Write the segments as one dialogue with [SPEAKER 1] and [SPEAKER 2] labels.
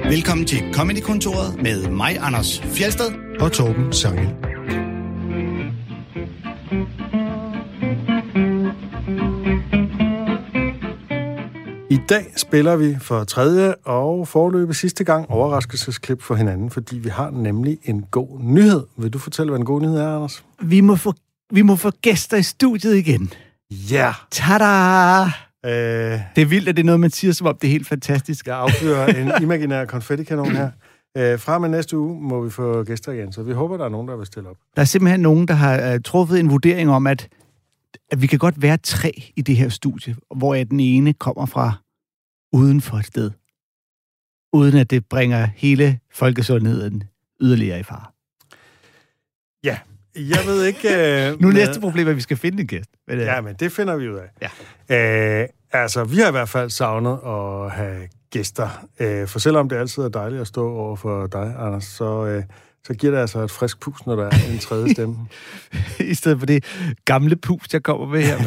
[SPEAKER 1] Velkommen til Comedy-kontoret med mig, Anders Fjeldsted
[SPEAKER 2] og Torben Sangel. I dag spiller vi for tredje og foreløbig sidste gang overraskelsesklip for hinanden, fordi vi har nemlig en god nyhed. Vil du fortælle, hvad en god nyhed er, Anders?
[SPEAKER 3] Vi må få gæster i studiet igen.
[SPEAKER 2] Ja! Yeah.
[SPEAKER 3] Tada! Det er vildt, at det er noget, man siger, som om det er helt fantastisk.
[SPEAKER 2] Jeg affyrer en imaginær konfettikanon her. Fra med næste uge må vi få gæster igen, så vi håber, der er nogen, der vil stille op.
[SPEAKER 3] Der er simpelthen nogen, der har truffet en vurdering om, at vi kan godt være 3 i det her studie, hvor den ene kommer fra uden for et sted, uden at det bringer hele folkesundheden yderligere i fare.
[SPEAKER 2] Ja, jeg ved ikke...
[SPEAKER 3] Nu er næste problem, at vi skal finde en gæst.
[SPEAKER 2] Ja, men det finder vi ud af.
[SPEAKER 3] Ja.
[SPEAKER 2] Altså, vi har i hvert fald savnet at have gæster. For selvom det altid er dejligt at stå over for dig, Anders, så giver det altså et frisk pus, når der er en tredje stemme.
[SPEAKER 3] I stedet for det gamle pus, jeg kommer med her.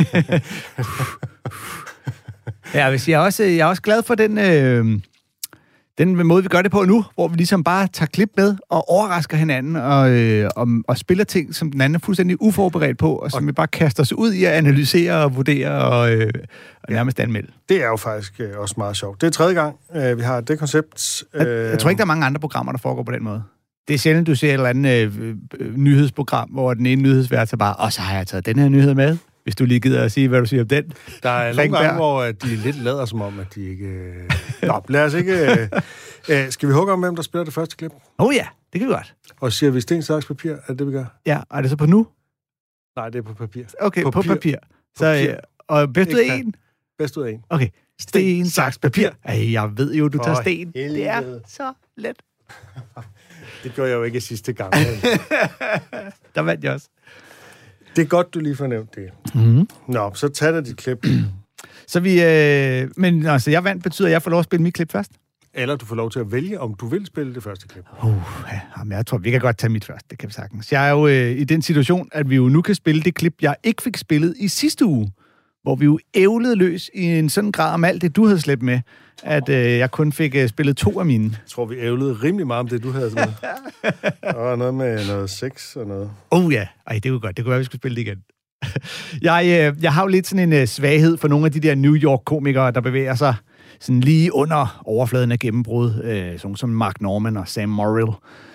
[SPEAKER 3] Ja, jeg er også glad for den måde, vi gør det på nu, hvor vi ligesom bare tager klip med og overrasker hinanden og spiller ting, som den anden er fuldstændig uforberedt på, og som vi bare kaster os ud i at analysere og vurdere og nærmest anmelde.
[SPEAKER 2] Det er jo faktisk også meget sjovt. Det er tredje gang, vi har det koncept.
[SPEAKER 3] Jeg tror ikke, der er mange andre programmer, der foregår på den måde. Det er sjældent, du ser et eller andet nyhedsprogram, hvor den ene nyhedsvært så bare, og så har jeg taget den her nyhed med, hvis du lige gider at sige, hvad du siger om den.
[SPEAKER 2] Der er nogle gange, hvor de lidt lader som om, at de ikke... Nå, lad os ikke... Skal vi hugge om, hvem der spiller det første klip?
[SPEAKER 3] Ja, det kan vi godt.
[SPEAKER 2] Og siger vi sten, saks, papir? Er det, vi gør?
[SPEAKER 3] Ja, og er det så på nu?
[SPEAKER 2] Nej, det er på papir.
[SPEAKER 3] Okay, på papir. Så, og bedst ud af 1?
[SPEAKER 2] Bedst ud af 1.
[SPEAKER 3] Okay. Sten, saks, papir. Jeg ved jo, du tager sten.
[SPEAKER 2] Helvede.
[SPEAKER 3] Det er så let.
[SPEAKER 2] Det gjorde jeg jo ikke sidste gang.
[SPEAKER 3] Der vandt jeg også.
[SPEAKER 2] Det er godt, du lige får nævnt det.
[SPEAKER 3] Mm-hmm.
[SPEAKER 2] Nå, så tag dig dit klip.
[SPEAKER 3] Så vi... men altså, jeg vandt betyder, at jeg får lov at spille mit klip først?
[SPEAKER 2] Eller du får lov til at vælge, om du vil spille det første klip.
[SPEAKER 3] Jeg tror, vi kan godt tage mit først. Det kan vi sagtens. Jeg er jo i den situation, at vi jo nu kan spille det klip, jeg ikke fik spillet i sidste uge, hvor vi jo ævlede løs i en sådan grad om alt det, du havde slæbt med, at jeg kun fik spillet 2 af mine.
[SPEAKER 2] Jeg tror, vi ævlede rimelig meget om det, du havde med. Og noget med noget sex og noget.
[SPEAKER 3] Ja. Ej, det var godt. Det kunne være, vi skulle spille det igen. Jeg har jo lidt sådan en svaghed for nogle af de der New York-komikere, der bevæger sig sådan lige under overfladen af gennembrud. Sådan som Mark Norman og Sam Morrill.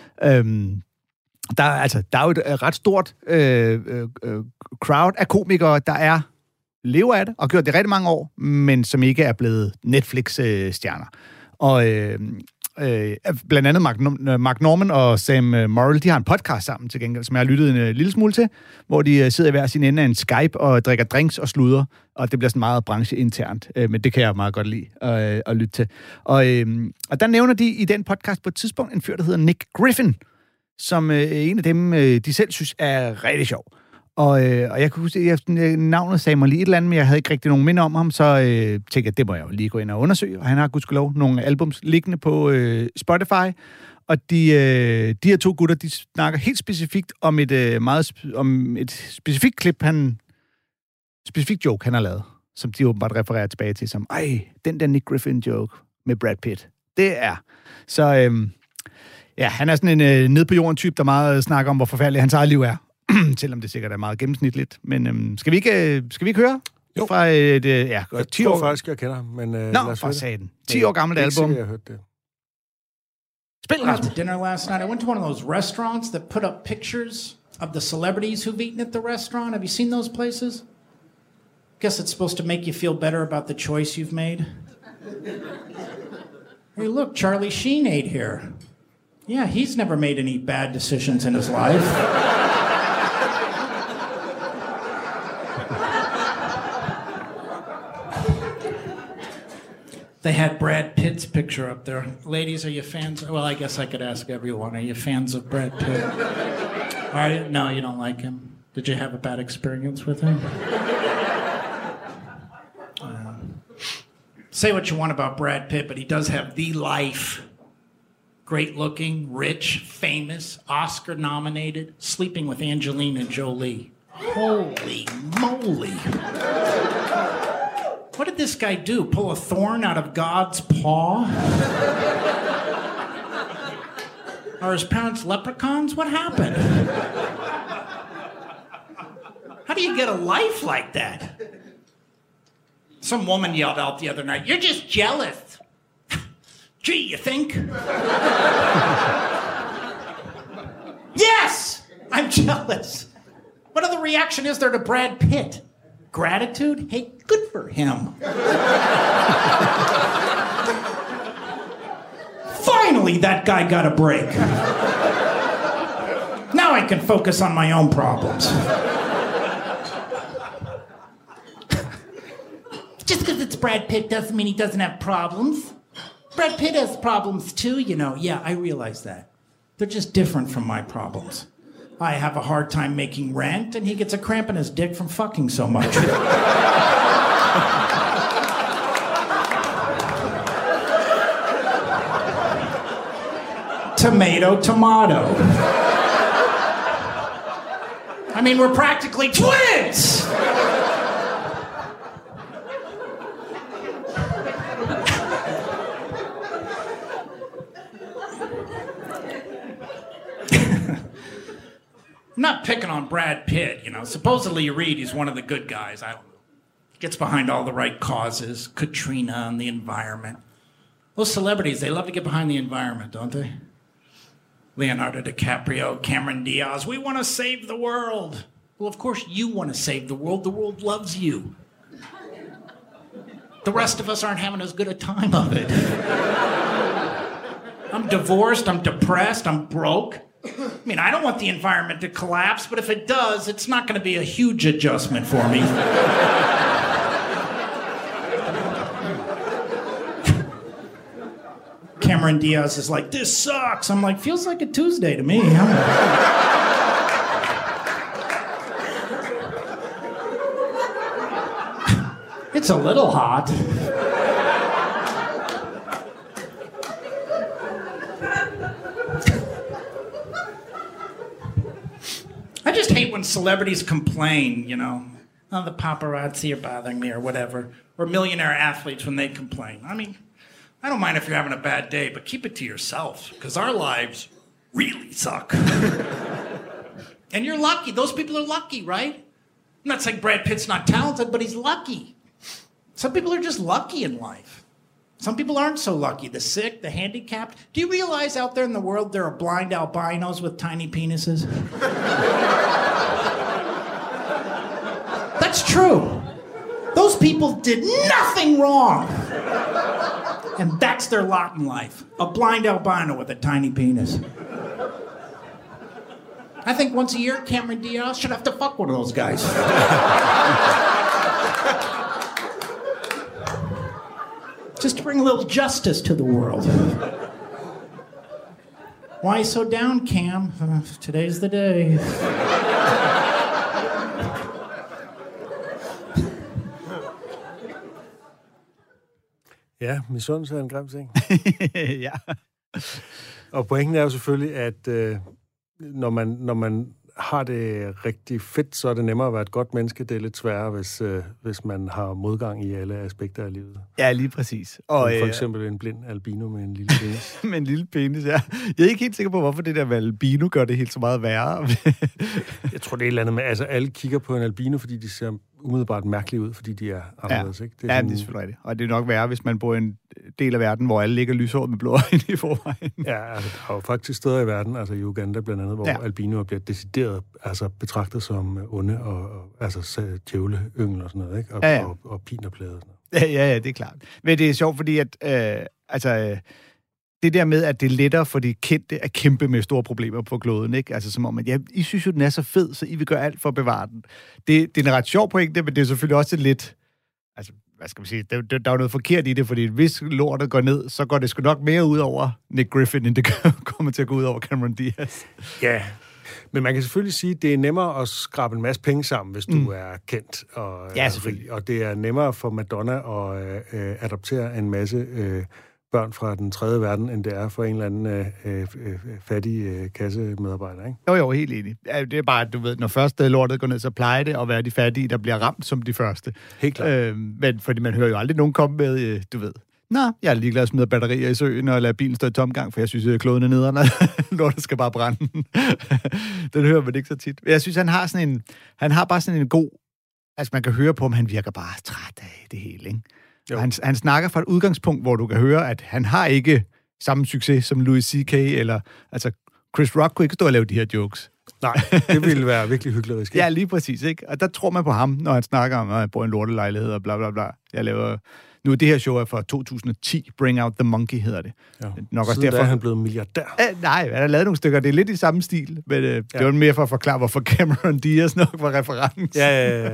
[SPEAKER 3] Der er jo et ret stort crowd af komikere, der lever af det, og gjort det rigtig mange år, men som ikke er blevet Netflix-stjerner. Og blandt andet Mark Norman og Sam Morrill, de har en podcast sammen til gengæld, som jeg har lyttet en lille smule til, hvor de sidder i hver sin ende af en Skype og drikker drinks og sluder, og det bliver sådan meget brancheinternt, men det kan jeg meget godt lide at lytte til. Og der nævner de i den podcast på et tidspunkt en fyr, der hedder Nick Griffin, som en af dem, de selv synes er rigtig sjov. Og jeg kunne huske, at navnet sagde mig lige et eller andet, men jeg havde ikke rigtig nogen minde om ham, så tænkte jeg, det må jeg jo lige gå ind og undersøge. Og han har gudskelov nogle albums liggende på Spotify. Og de her 2 gutter, de snakker helt specifikt om et specifikt klip, specifikt joke, han har lavet, som de åbenbart refererer tilbage til, som, den der Nick Griffin joke med Brad Pitt. Det er. Så han er sådan en ned på jorden type, der meget snakker om, hvor forfærdelig hans eget liv er. Selvom det sikkert er meget gennemsnitligt. Men skal vi ikke høre?
[SPEAKER 2] Jo.
[SPEAKER 3] Fra et
[SPEAKER 2] 10 år faktisk, jeg kender ham. Men
[SPEAKER 3] for satan. 10 år gammelt album.
[SPEAKER 2] Jeg hørte det.
[SPEAKER 3] Spil
[SPEAKER 4] I went to dinner last night. I went to one of those restaurants that put up pictures of the celebrities who've eaten at the restaurant. Have you seen those places? Guess it's supposed to make you feel better about the choice you've made. Hey, look, Charlie Sheen ate here. Yeah, he's never made any bad decisions in his life. They had Brad Pitt's picture up there. Ladies, are you fans? Well, I guess I could ask everyone. Are you fans of Brad Pitt? Are you? No, you don't like him. Did you have a bad experience with him? Say what you want about Brad Pitt, but he does have the life. Great looking, rich, famous, Oscar nominated, sleeping with Angelina Jolie. Holy moly. What did this guy do? Pull a thorn out of God's paw? Are his parents leprechauns? What happened? How do you get a life like that? Some woman yelled out the other night, "You're just jealous." Gee, you think? Yes, I'm jealous. What other reaction is there to Brad Pitt? Gratitude? Hey, good for him. Finally, that guy got a break. Now I can focus on my own problems. Just because it's Brad Pitt doesn't mean he doesn't have problems. Brad Pitt has problems too, you know. Yeah, I realize that. They're just different from my problems. I have a hard time making rent, and he gets a cramp in his dick from fucking so much. Tomato, tomato. I mean, we're practically twins! I'm not picking on Brad Pitt, you know. Supposedly you read he's one of the good guys. I don't know. Gets behind all the right causes. Katrina and the environment. Those celebrities, they love to get behind the environment, don't they? Leonardo DiCaprio, Cameron Diaz. We want to save the world. Well, of course you want to save the world. The world loves you. The rest of us aren't having as good a time of it. I'm divorced. I'm depressed. I'm broke. I mean, I don't want the environment to collapse, but if it does, it's not going to be a huge adjustment for me. Cameron Diaz is like, "This sucks." I'm like, "Feels like a Tuesday to me." It's a little hot. I just hate when celebrities complain, you know. "Oh, the paparazzi are bothering me," or whatever. Or millionaire athletes when they complain. I mean, I don't mind if you're having a bad day, but keep it to yourself, because our lives really suck. And you're lucky. Those people are lucky, right? I'm not saying Brad Pitt's not talented, but he's lucky. Some people are just lucky in life. Some people aren't so lucky. The sick, the handicapped. Do you realize out there in the world there are blind albinos with tiny penises? That's true. Those people did nothing wrong. And that's their lot in life. A blind albino with a tiny penis. I think once a year, Cameron Diaz should have to fuck one of those guys. Just to bring a little justice to the world. Why so down, Cam? Today's the day.
[SPEAKER 2] Ja, misundelse er en grim ting.
[SPEAKER 3] Ja.
[SPEAKER 2] Og pointen er jo selvfølgelig, at når man har det rigtig fedt, så er det nemmere at være et godt menneske. Det er lidt sværere, hvis man har modgang i alle aspekter af livet.
[SPEAKER 3] Ja, lige præcis. Og,
[SPEAKER 2] for eksempel en blind albino med en lille penis.
[SPEAKER 3] Med en lille penis, ja. Jeg er ikke helt sikker på, hvorfor det der med albino gør det helt så meget værre.
[SPEAKER 2] Jeg tror, det er et eller andet med, altså alle kigger på en albino, fordi de ser umiddelbart mærkelige ud, fordi de er anderledes, ikke?
[SPEAKER 3] Det er det er selvfølgelig rigtigt. Og det er nok værre, hvis man bor i en del af verden, hvor alle ligger lyshåret med blå øjne i forvejen.
[SPEAKER 2] Ja, altså, der er jo faktisk steder i verden, altså i Uganda blandt andet, hvor albinoer bliver decideret betragtet som onde og altså djævleyngel og sådan noget, ikke? Og pinerplade og sådan noget.
[SPEAKER 3] Ja, det er klart. Men det er sjovt, fordi at det der med, at det er lettere for de kendte at kæmpe med store problemer på kloden, ikke? Altså som om, at I synes jo, den er så fed, så I vil gøre alt for at bevare den. Det er en ret sjov pointe, men det er selvfølgelig også lidt... Altså, hvad skal man sige? Der er jo noget forkert i det, fordi hvis lortet går ned, så går det sgu nok mere ud over Nick Griffin, end det kommer til at gå ud over Cameron Diaz.
[SPEAKER 2] Ja, men man kan selvfølgelig sige, at det er nemmere at skrabe en masse penge sammen, hvis du er kendt. Og,
[SPEAKER 3] ja, selvfølgelig.
[SPEAKER 2] Og det er nemmere for Madonna at adoptere en masse børn fra den tredje verden, end det er for en eller anden fattig kassemedarbejder, ikke?
[SPEAKER 3] Jo, helt enig. Det er bare, at du ved, når først lortet går ned, så plejer det at være de fattige, der bliver ramt som de første.
[SPEAKER 2] Helt klart.
[SPEAKER 3] Men fordi man hører jo aldrig nogen komme med, du ved, Nå, jeg er ligeglad at smide batterier i søen og lade bilen stå i tomgang, for jeg synes, at kloden er nederen, når det skal bare brænde. Den hører man ikke så tit. Jeg synes, han har bare sådan en god... Altså, man kan høre på ham, han virker bare træt af det hele, ikke? Han snakker fra et udgangspunkt, hvor du kan høre, at han har ikke samme succes som Louis C.K. eller... Altså, Chris Rock kunne ikke stå og lave de her jokes.
[SPEAKER 2] Nej, det ville være virkelig hyggeligt.
[SPEAKER 3] Ja, lige præcis, ikke? Og der tror man på ham, når han snakker om, at han bor i en lortelejlighed og bla bla bla. Jeg laver... Nu, det her show er fra 2010. Bring Out the Monkey hedder det.
[SPEAKER 2] Ja.
[SPEAKER 3] Nok
[SPEAKER 2] også derfor er han blevet milliardær.
[SPEAKER 3] Nej, han har lavet nogle stykker. Det er lidt i samme stil, men det var mere for at forklare, hvorfor Cameron Diaz nok var reference.
[SPEAKER 2] Ja.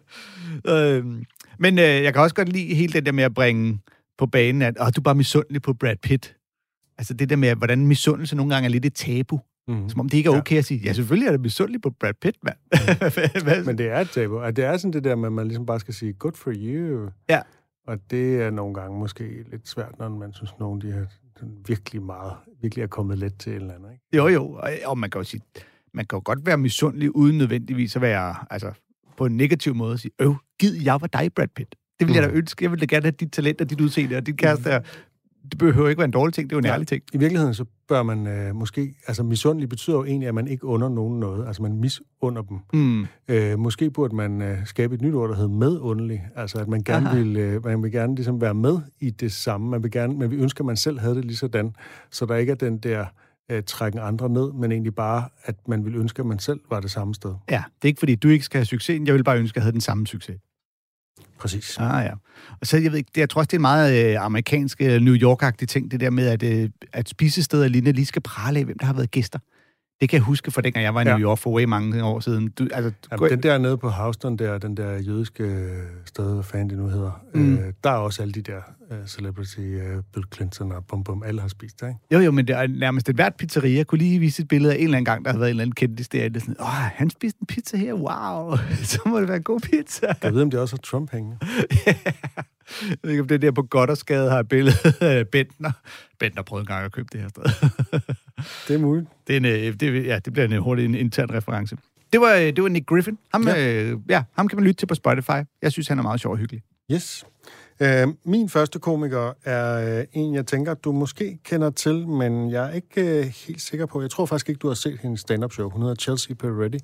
[SPEAKER 3] Men jeg kan også godt lide hele det der med at bringe på banen, at du er bare misundelig på Brad Pitt. Altså det der med, hvordan misundelse nogle gange er lidt et tabu. Som om det ikke er okay at sige, ja, selvfølgelig er det misundelig på Brad Pitt, mand.
[SPEAKER 2] Men det er et tabu. Og det er sådan det der med, at man ligesom bare skal sige, good for you.
[SPEAKER 3] Ja.
[SPEAKER 2] Og det er nogle gange måske lidt svært, når man synes, nogen de har virkelig er kommet let til en eller anden, ikke?
[SPEAKER 3] Jo, og man kan jo sige, man kan jo godt være misundelig, uden nødvendigvis at være, altså, på en negativ måde at sige, gid jeg var dig, Brad Pitt. Det vil jeg da ønske. Jeg vil da gerne have dit talent og dit udseende og dit kæreste der. Det behøver ikke være en dårlig ting, det er jo en ærlig ting.
[SPEAKER 2] I virkeligheden så bør man måske... Altså misundelig betyder jo egentlig, at man ikke under nogen noget. Altså man misunder dem. Måske burde man skabe et nyt ord, der hedder medundelig. Altså at man gerne man vil gerne ligesom være med i det samme. Men vi ønsker, at man selv havde det lige sådan. Så der ikke er den der trækken andre ned, men egentlig bare, at man vil ønske, at man selv var det samme sted.
[SPEAKER 3] Ja, det er ikke fordi, du ikke skal have succesen. Jeg vil bare ønske, at jeg havde den samme succes.
[SPEAKER 2] Præcis.
[SPEAKER 3] Ja. Og så, jeg ved ikke, jeg tror også, det er en meget amerikansk, New York-agtig ting, det der med, at spisesteder lige skal prale af, hvem der har været gæster. Det kan jeg huske fra dengang jeg var i New York for way mange år siden.
[SPEAKER 2] Den der nede på Houston, den der jødiske sted, hvad fanden det nu hedder, der er også alle de der celebrity, Bill Clinton og bum, alle har spist der, ikke?
[SPEAKER 3] Jo, men det er nærmest et hvert pizzeria. Jeg kunne lige vise et billede af en eller anden gang, der har været en eller anden kendis der. Sådan, han spiste en pizza her, wow, så må det være en god pizza.
[SPEAKER 2] Jeg ved, om det også har Trump hængende.
[SPEAKER 3] Jeg ved ikke, om det der på Goddersgade har et billede af Bentner. Bentner prøvede en gang at købe det her sted.
[SPEAKER 2] Det er muligt.
[SPEAKER 3] Det bliver en hurtig intern reference. Det var Nick Griffin. Ham kan man lytte til på Spotify. Jeg synes, han er meget sjov og hyggelig.
[SPEAKER 2] Yes. Min første komiker er en, jeg tænker, du måske kender til, men jeg er ikke helt sikker på. Jeg tror faktisk ikke, du har set hendes stand-up show. Hun hedder Chelsea Peretti.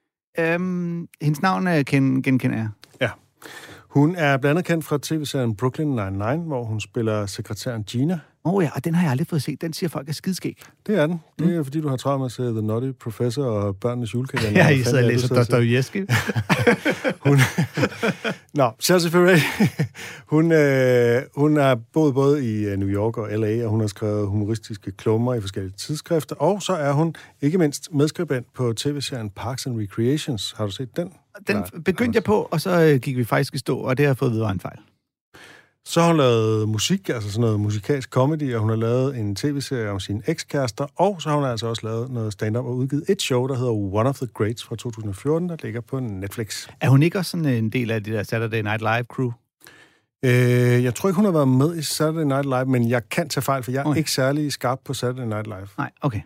[SPEAKER 3] Hendes navn genkender jeg.
[SPEAKER 2] Ja. Hun er blandt andet kendt fra tv-serien Brooklyn Nine-Nine, hvor hun spiller sekretæren Gina.
[SPEAKER 3] Ja, og den har jeg aldrig fået set. Den siger folk er skidskæg.
[SPEAKER 2] Det er den. Det er fordi, du har travlt med at se The Nutty Professor og Børnenes Julekalender.
[SPEAKER 3] Ja, I sidder og læser Dostojevskij.
[SPEAKER 2] Chelsea Peretti, hun har boet både i New York og LA, og hun har skrevet humoristiske klummer i forskellige tidsskrifter, og så er hun ikke mindst medskribent på tv-serien Parks and Recreations. Har du set den?
[SPEAKER 3] Den begyndte jeg på, og så gik vi faktisk i stå, og det har jeg fået videre en fejl.
[SPEAKER 2] Så har hun lavet musik, altså sådan noget musikalsk comedy, og hun har lavet en tv-serie om sine ekskærester, og så har hun altså også lavet noget stand-up og udgivet et show, der hedder One of the Greats fra 2014, der ligger på Netflix.
[SPEAKER 3] Er hun ikke også sådan en del af det der Saturday Night Live crew?
[SPEAKER 2] Jeg tror ikke, hun har været med i Saturday Night Live, men jeg kan tage fejl, for jeg er ikke særlig skarp på Saturday Night Live.
[SPEAKER 3] Nej, okay.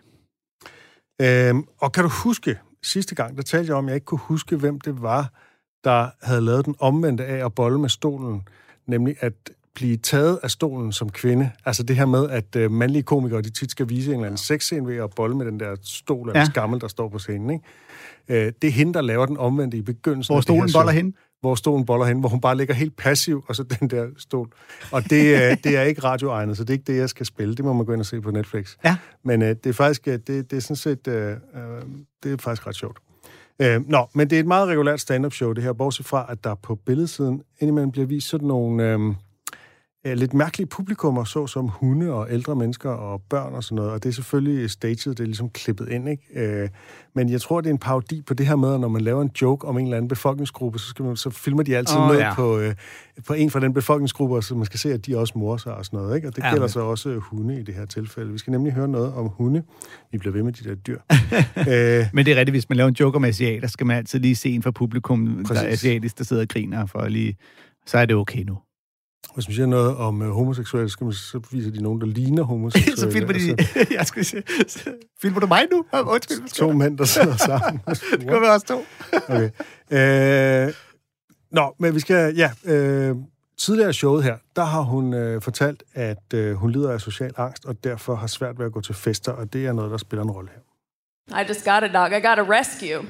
[SPEAKER 2] Og kan du huske, sidste gang, der talte jeg om, at jeg ikke kunne huske, hvem det var, der havde lavet den omvendte af at bolle med stolen, nemlig at blive taget af stolen som kvinde. Altså det her med, at mandlige komikere, de tit skal vise en eller anden sexscene ved at bolle med den der stol af skammel, der står på scenen, ikke? Det er hende, der laver den omvendte i begyndelsen.
[SPEAKER 3] Hvor stolen boller hende?
[SPEAKER 2] Hvor stolen boller hende, hvor hun bare ligger helt passiv, og så den der stol. Og det er ikke radioegnet, så det er ikke det, jeg skal spille. Det må man gå ind og se på Netflix. Ja. Men det er faktisk, det er sådan set, det er faktisk ret sjovt. Men det er et meget regulært stand-up show, det her, bortset fra, at der på billedsiden indimellem bliver vist sådan nogle lidt mærkelige publikummer, såsom hunde og ældre mennesker og børn og sådan noget, og det er selvfølgelig staged, det er ligesom klippet ind, ikke? Men jeg tror, det er en parodi på det her med, at når man laver en joke om en eller anden befolkningsgruppe, så filmer de altid noget på en fra den befolkningsgruppe, så man skal se, at de også morer sig og sådan noget, ikke? Og det gælder så også hunde i det her tilfælde. Vi skal nemlig høre noget om hunde. Vi bliver ved med de der dyr.
[SPEAKER 3] Men det er rigtigt, hvis man laver en joke om asiater, skal man altid lige se en fra publikum, der er asiatisk, der sidder og griner, for lige, så er det okay nu.
[SPEAKER 2] Hvis man siger noget om homoseksuelle, så viser de nogen, der ligner homoseksuelle.
[SPEAKER 3] Så filmer de... Jeg skal se. Filmer du mig nu? Undskyld.
[SPEAKER 2] 2 mænd, der sidder sammen.
[SPEAKER 3] Det kan være også 2.
[SPEAKER 2] Okay. Men vi skal... tidligere i showet her, der har hun fortalt, at hun lider af social angst, og derfor har svært ved at gå til fester, og det er noget, der spiller en rolle her.
[SPEAKER 5] I just got a dog. I got a rescue.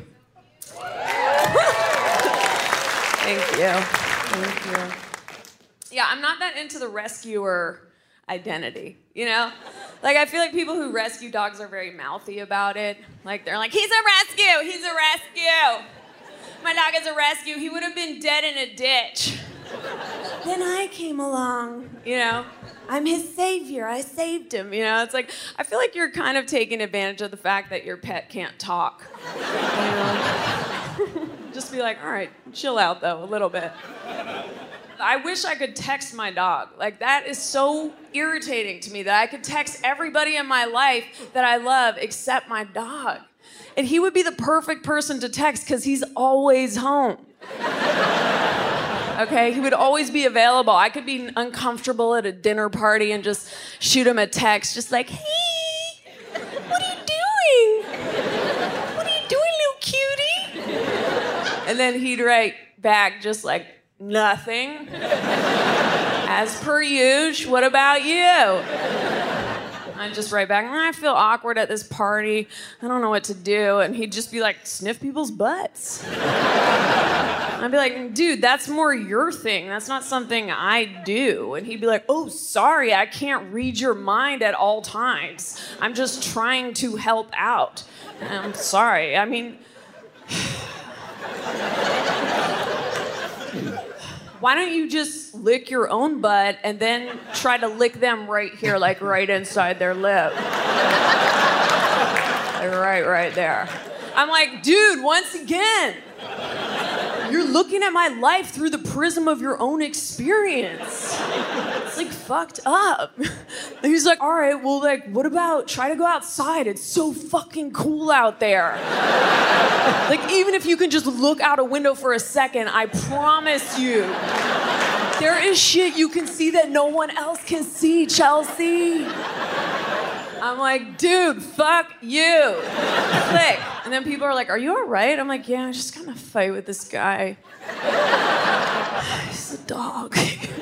[SPEAKER 5] Thank you. Thank you. Yeah, I'm not that into the rescuer identity, you know? Like, I feel like people who rescue dogs are very mouthy about it. Like, they're like, he's a rescue! He's a rescue! My dog is a rescue. He would have been dead in a ditch. Then I came along, you know? I'm his savior. I saved him, you know? It's like, I feel like you're kind of taking advantage of the fact that your pet can't talk. You know? Just be like, all right, chill out, though, a little bit. I wish I could text my dog. Like, that is so irritating to me that I could text everybody in my life that I love except my dog. And he would be the perfect person to text because he's always home. Okay, he would always be available. I could be uncomfortable at a dinner party and just shoot him a text, just like, hey, what are you doing? What are you doing, little cutie? And then he'd write back just like, nothing. As per usual, what about you? I'd just write back, I feel awkward at this party. I don't know what to do. And he'd just be like, sniff people's butts. I'd be like, dude, that's more your thing. That's not something I do. And he'd be like, oh, sorry, I can't read your mind at all times. I'm just trying to help out. And I'm sorry. I mean, why don't you just lick your own butt and then try to lick them right here, like right inside their lip? Like right there. I'm like, dude, once again, you're looking at my life through the prism of your own experience. It's like fucked up. And he's like, all right, well, like, what about try to go outside? It's so fucking cool out there. Like, even if you can just look out a window for a second, I promise you, there is shit you can see that no one else can see, Chelsea. I'm like, dude, fuck you. Click. And then people are like, are you all right? I'm like, yeah, I just got in a fight with this guy. He's a dog.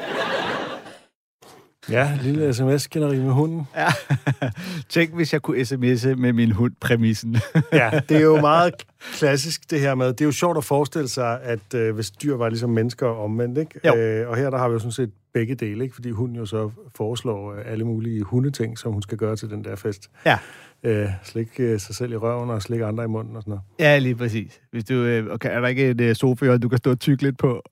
[SPEAKER 2] Ja, lille sms-skænderi med hunden.
[SPEAKER 3] Ja. Tænk, hvis jeg kunne sms'e med min hund-præmissen.
[SPEAKER 2] Ja, det er jo meget klassisk, det her med. Det er jo sjovt at forestille sig, at hvis dyr var ligesom mennesker omvendt, ikke? Og her der har vi jo sådan set begge dele, ikke? Fordi hunden jo så foreslår alle mulige hundeting, som hun skal gøre til den der fest.
[SPEAKER 3] Ja.
[SPEAKER 2] Slikke sig selv i røven og slikke andre i munden og sådan noget.
[SPEAKER 3] Ja, lige præcis. Hvis du, okay, er der ikke et sofa, du kan stå og tygge lidt på?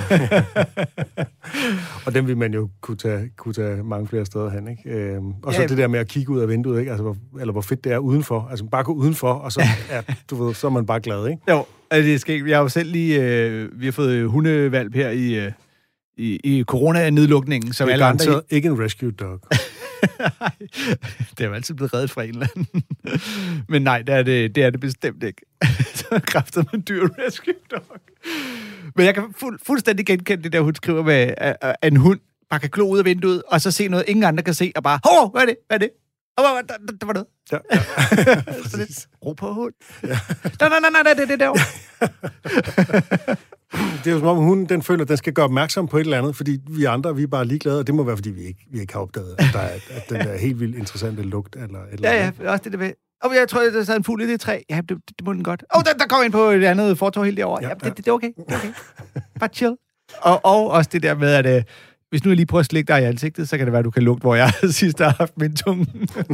[SPEAKER 2] Og den vil man jo kunne tage mange flere steder hen, ikke? Og så det der med at kigge ud af vinduet, ikke? Altså, hvor fedt det er udenfor. Altså, bare gå udenfor, og så, så er man bare glad, ikke?
[SPEAKER 3] Jo, det skal ikke. Jeg har jo selv lige... vi har fået hundevalp her i corona-nedlukningen, som alle andre...
[SPEAKER 2] Det er ikke en rescue dog.
[SPEAKER 3] Det er jo altid blevet reddet fra en eller anden. Men nej, det er det bestemt ikke. Så kræfter man dyr rescue dog. Men jeg kan fuldstændig genkende det der, hun skriver med, at en hund bare kan glo ud af vinduet, og så se noget, ingen andre kan se, og bare, hov, hvad er det? Hvad er det? Der var noget.
[SPEAKER 2] Ja.
[SPEAKER 3] Så lidt, ro på hund. Ja. Nej, det er derovre.
[SPEAKER 2] Det er jo som om hunden, den føler, at den skal gøre opmærksom på et eller andet, fordi vi andre, vi er bare ligeglade, og det må være, fordi vi ikke har opdaget, at den der helt vildt interessante lugt, eller
[SPEAKER 3] ja, også det der ved. Jeg tror, der sad en fugl i det træ. Ja, det må den godt. Der kom ind på et andet fortov helt derovre. Ja, det er okay. Det er okay. Bare chill. Og også det der med, at hvis nu jeg lige prøver at slikke dig i ansigtet, så kan det være, at du kan lugte, hvor jeg sidst har haft min tunge.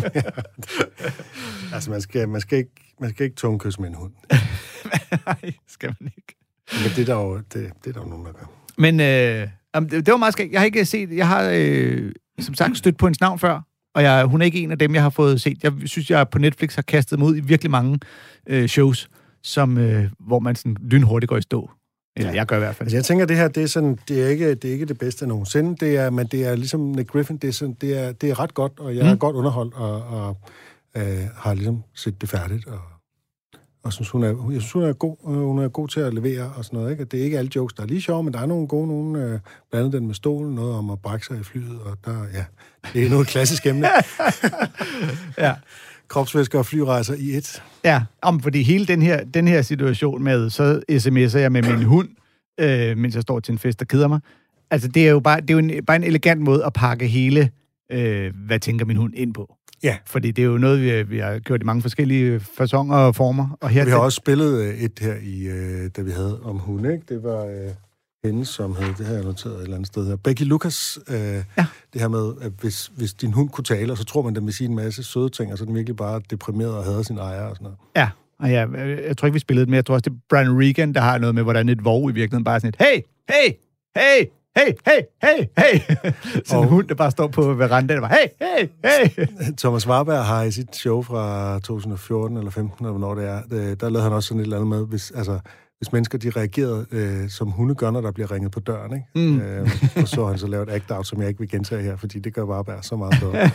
[SPEAKER 2] Altså, man skal ikke tungekysse med en hund.
[SPEAKER 3] Nej, skal man ikke.
[SPEAKER 2] Men det er der jo nogen, der gør.
[SPEAKER 3] Men det var meget skægt. Jeg har ikke set... Jeg har, som sagt, stødt på hendes navn før, og hun er ikke en af dem, jeg har fået set. Jeg synes, jeg på Netflix har kastet mig ud i virkelig mange shows, hvor man sådan lynhurtigt går i stå. Eller jeg gør i hvert fald.
[SPEAKER 2] Altså, jeg tænker, det her, det er ikke det bedste nogensinde. Men det er ligesom Nick Griffin, det er ret godt, og jeg er godt underholdt, og har ligesom set det færdigt, og synes, hun er god. Hun er god til at levere og sådan noget, ikke? Det er ikke alle jokes, der er lige sjove, men der er nogle gode, blandt andet den med stolen, noget om at brække sig i flyet, og det er noget klassisk emne.
[SPEAKER 3] Ja.
[SPEAKER 2] Kropsvæsker og flyrejser i et.
[SPEAKER 3] Ja, fordi hele den her situation med, så sms'er jeg med min hund, mens jeg står til en fest og keder mig, Altså, det er jo bare en elegant måde at pakke hele, hvad tænker min hund, ind på.
[SPEAKER 2] Ja.
[SPEAKER 3] Fordi det er jo noget, vi har gjort i mange forskellige faconer og former. Og her
[SPEAKER 2] vi har også spillet et her, da vi havde om hunde, ikke? Det var hende, som hed, det her jeg noteret et eller andet sted her, Becky Lucas. Det her med, at hvis din hund kunne tale, og så tror man, den vil sige en masse søde ting, og så er den virkelig bare deprimeret og hader sin ejer og sådan noget.
[SPEAKER 3] Ja, og jeg tror ikke, vi spillede det, men jeg tror også, det er Brian Regan, der har noget med, hvordan et vov i virkeligheden bare er sådan et, hey, hey, hey, hey, hey, hey, hey. Sådan en hund, der bare står på verandaen, og bare, hey, hey, hey.
[SPEAKER 2] Thomas Warberg har i sit show fra 2014 eller 15, eller hvornår det er, der lavede han også sådan et eller andet med, hvis mennesker, de reagerede, som hunde gør, når der bliver ringet på døren, ikke? Og så han så lavet et act-out, som jeg ikke vil gentage her, fordi det gør Warberg så meget bedre.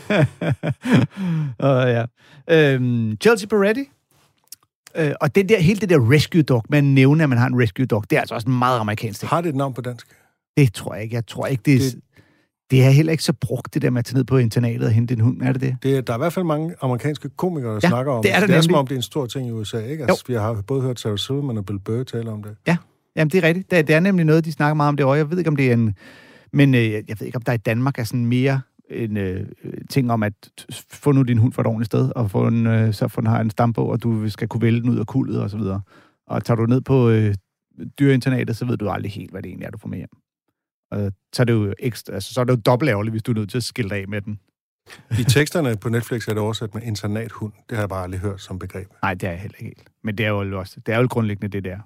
[SPEAKER 3] Chelsea Peretti. Og hele det der rescue dog, man nævner, at man har en rescue dog, det er altså også en meget amerikansk ting.
[SPEAKER 2] Har det et navn på dansk?
[SPEAKER 3] Det tror jeg ikke. Jeg tror ikke, det er heller ikke så brugt, det der med at tage ned på internatet og hente en hund. Er det?
[SPEAKER 2] Der er i hvert fald mange amerikanske komikere, der snakker om
[SPEAKER 3] det. Det
[SPEAKER 2] er som om, det er en stor ting i USA, ikke? Altså, vi har både hørt Sarah Silverman og Bill Burr tale om det. Ja,
[SPEAKER 3] jamen det er rigtigt. Det er nemlig noget, de snakker meget om det, og jeg ved ikke, om det er en... Men jeg ved ikke, om der i Danmark er sådan mere en ting om, at få nu din hund for et ordentligt sted, og så få den har en stambog, og du skal kunne vælge den ud af kuldet, og så videre. Og tager du ned på dyreinternatet, så ved du aldrig helt, hvad det egentlig er, du får med hjem. Så er det jo ekstra, altså, så er det jo dobbelt ærgerligt, hvis du er nødt til at skille af med den.
[SPEAKER 2] I teksterne på Netflix er det oversat med internathund. Det har jeg bare aldrig hørt som begreb.
[SPEAKER 3] Nej, det er jeg heller ikke helt. Men det er jo også, det er jo grundlæggende det der.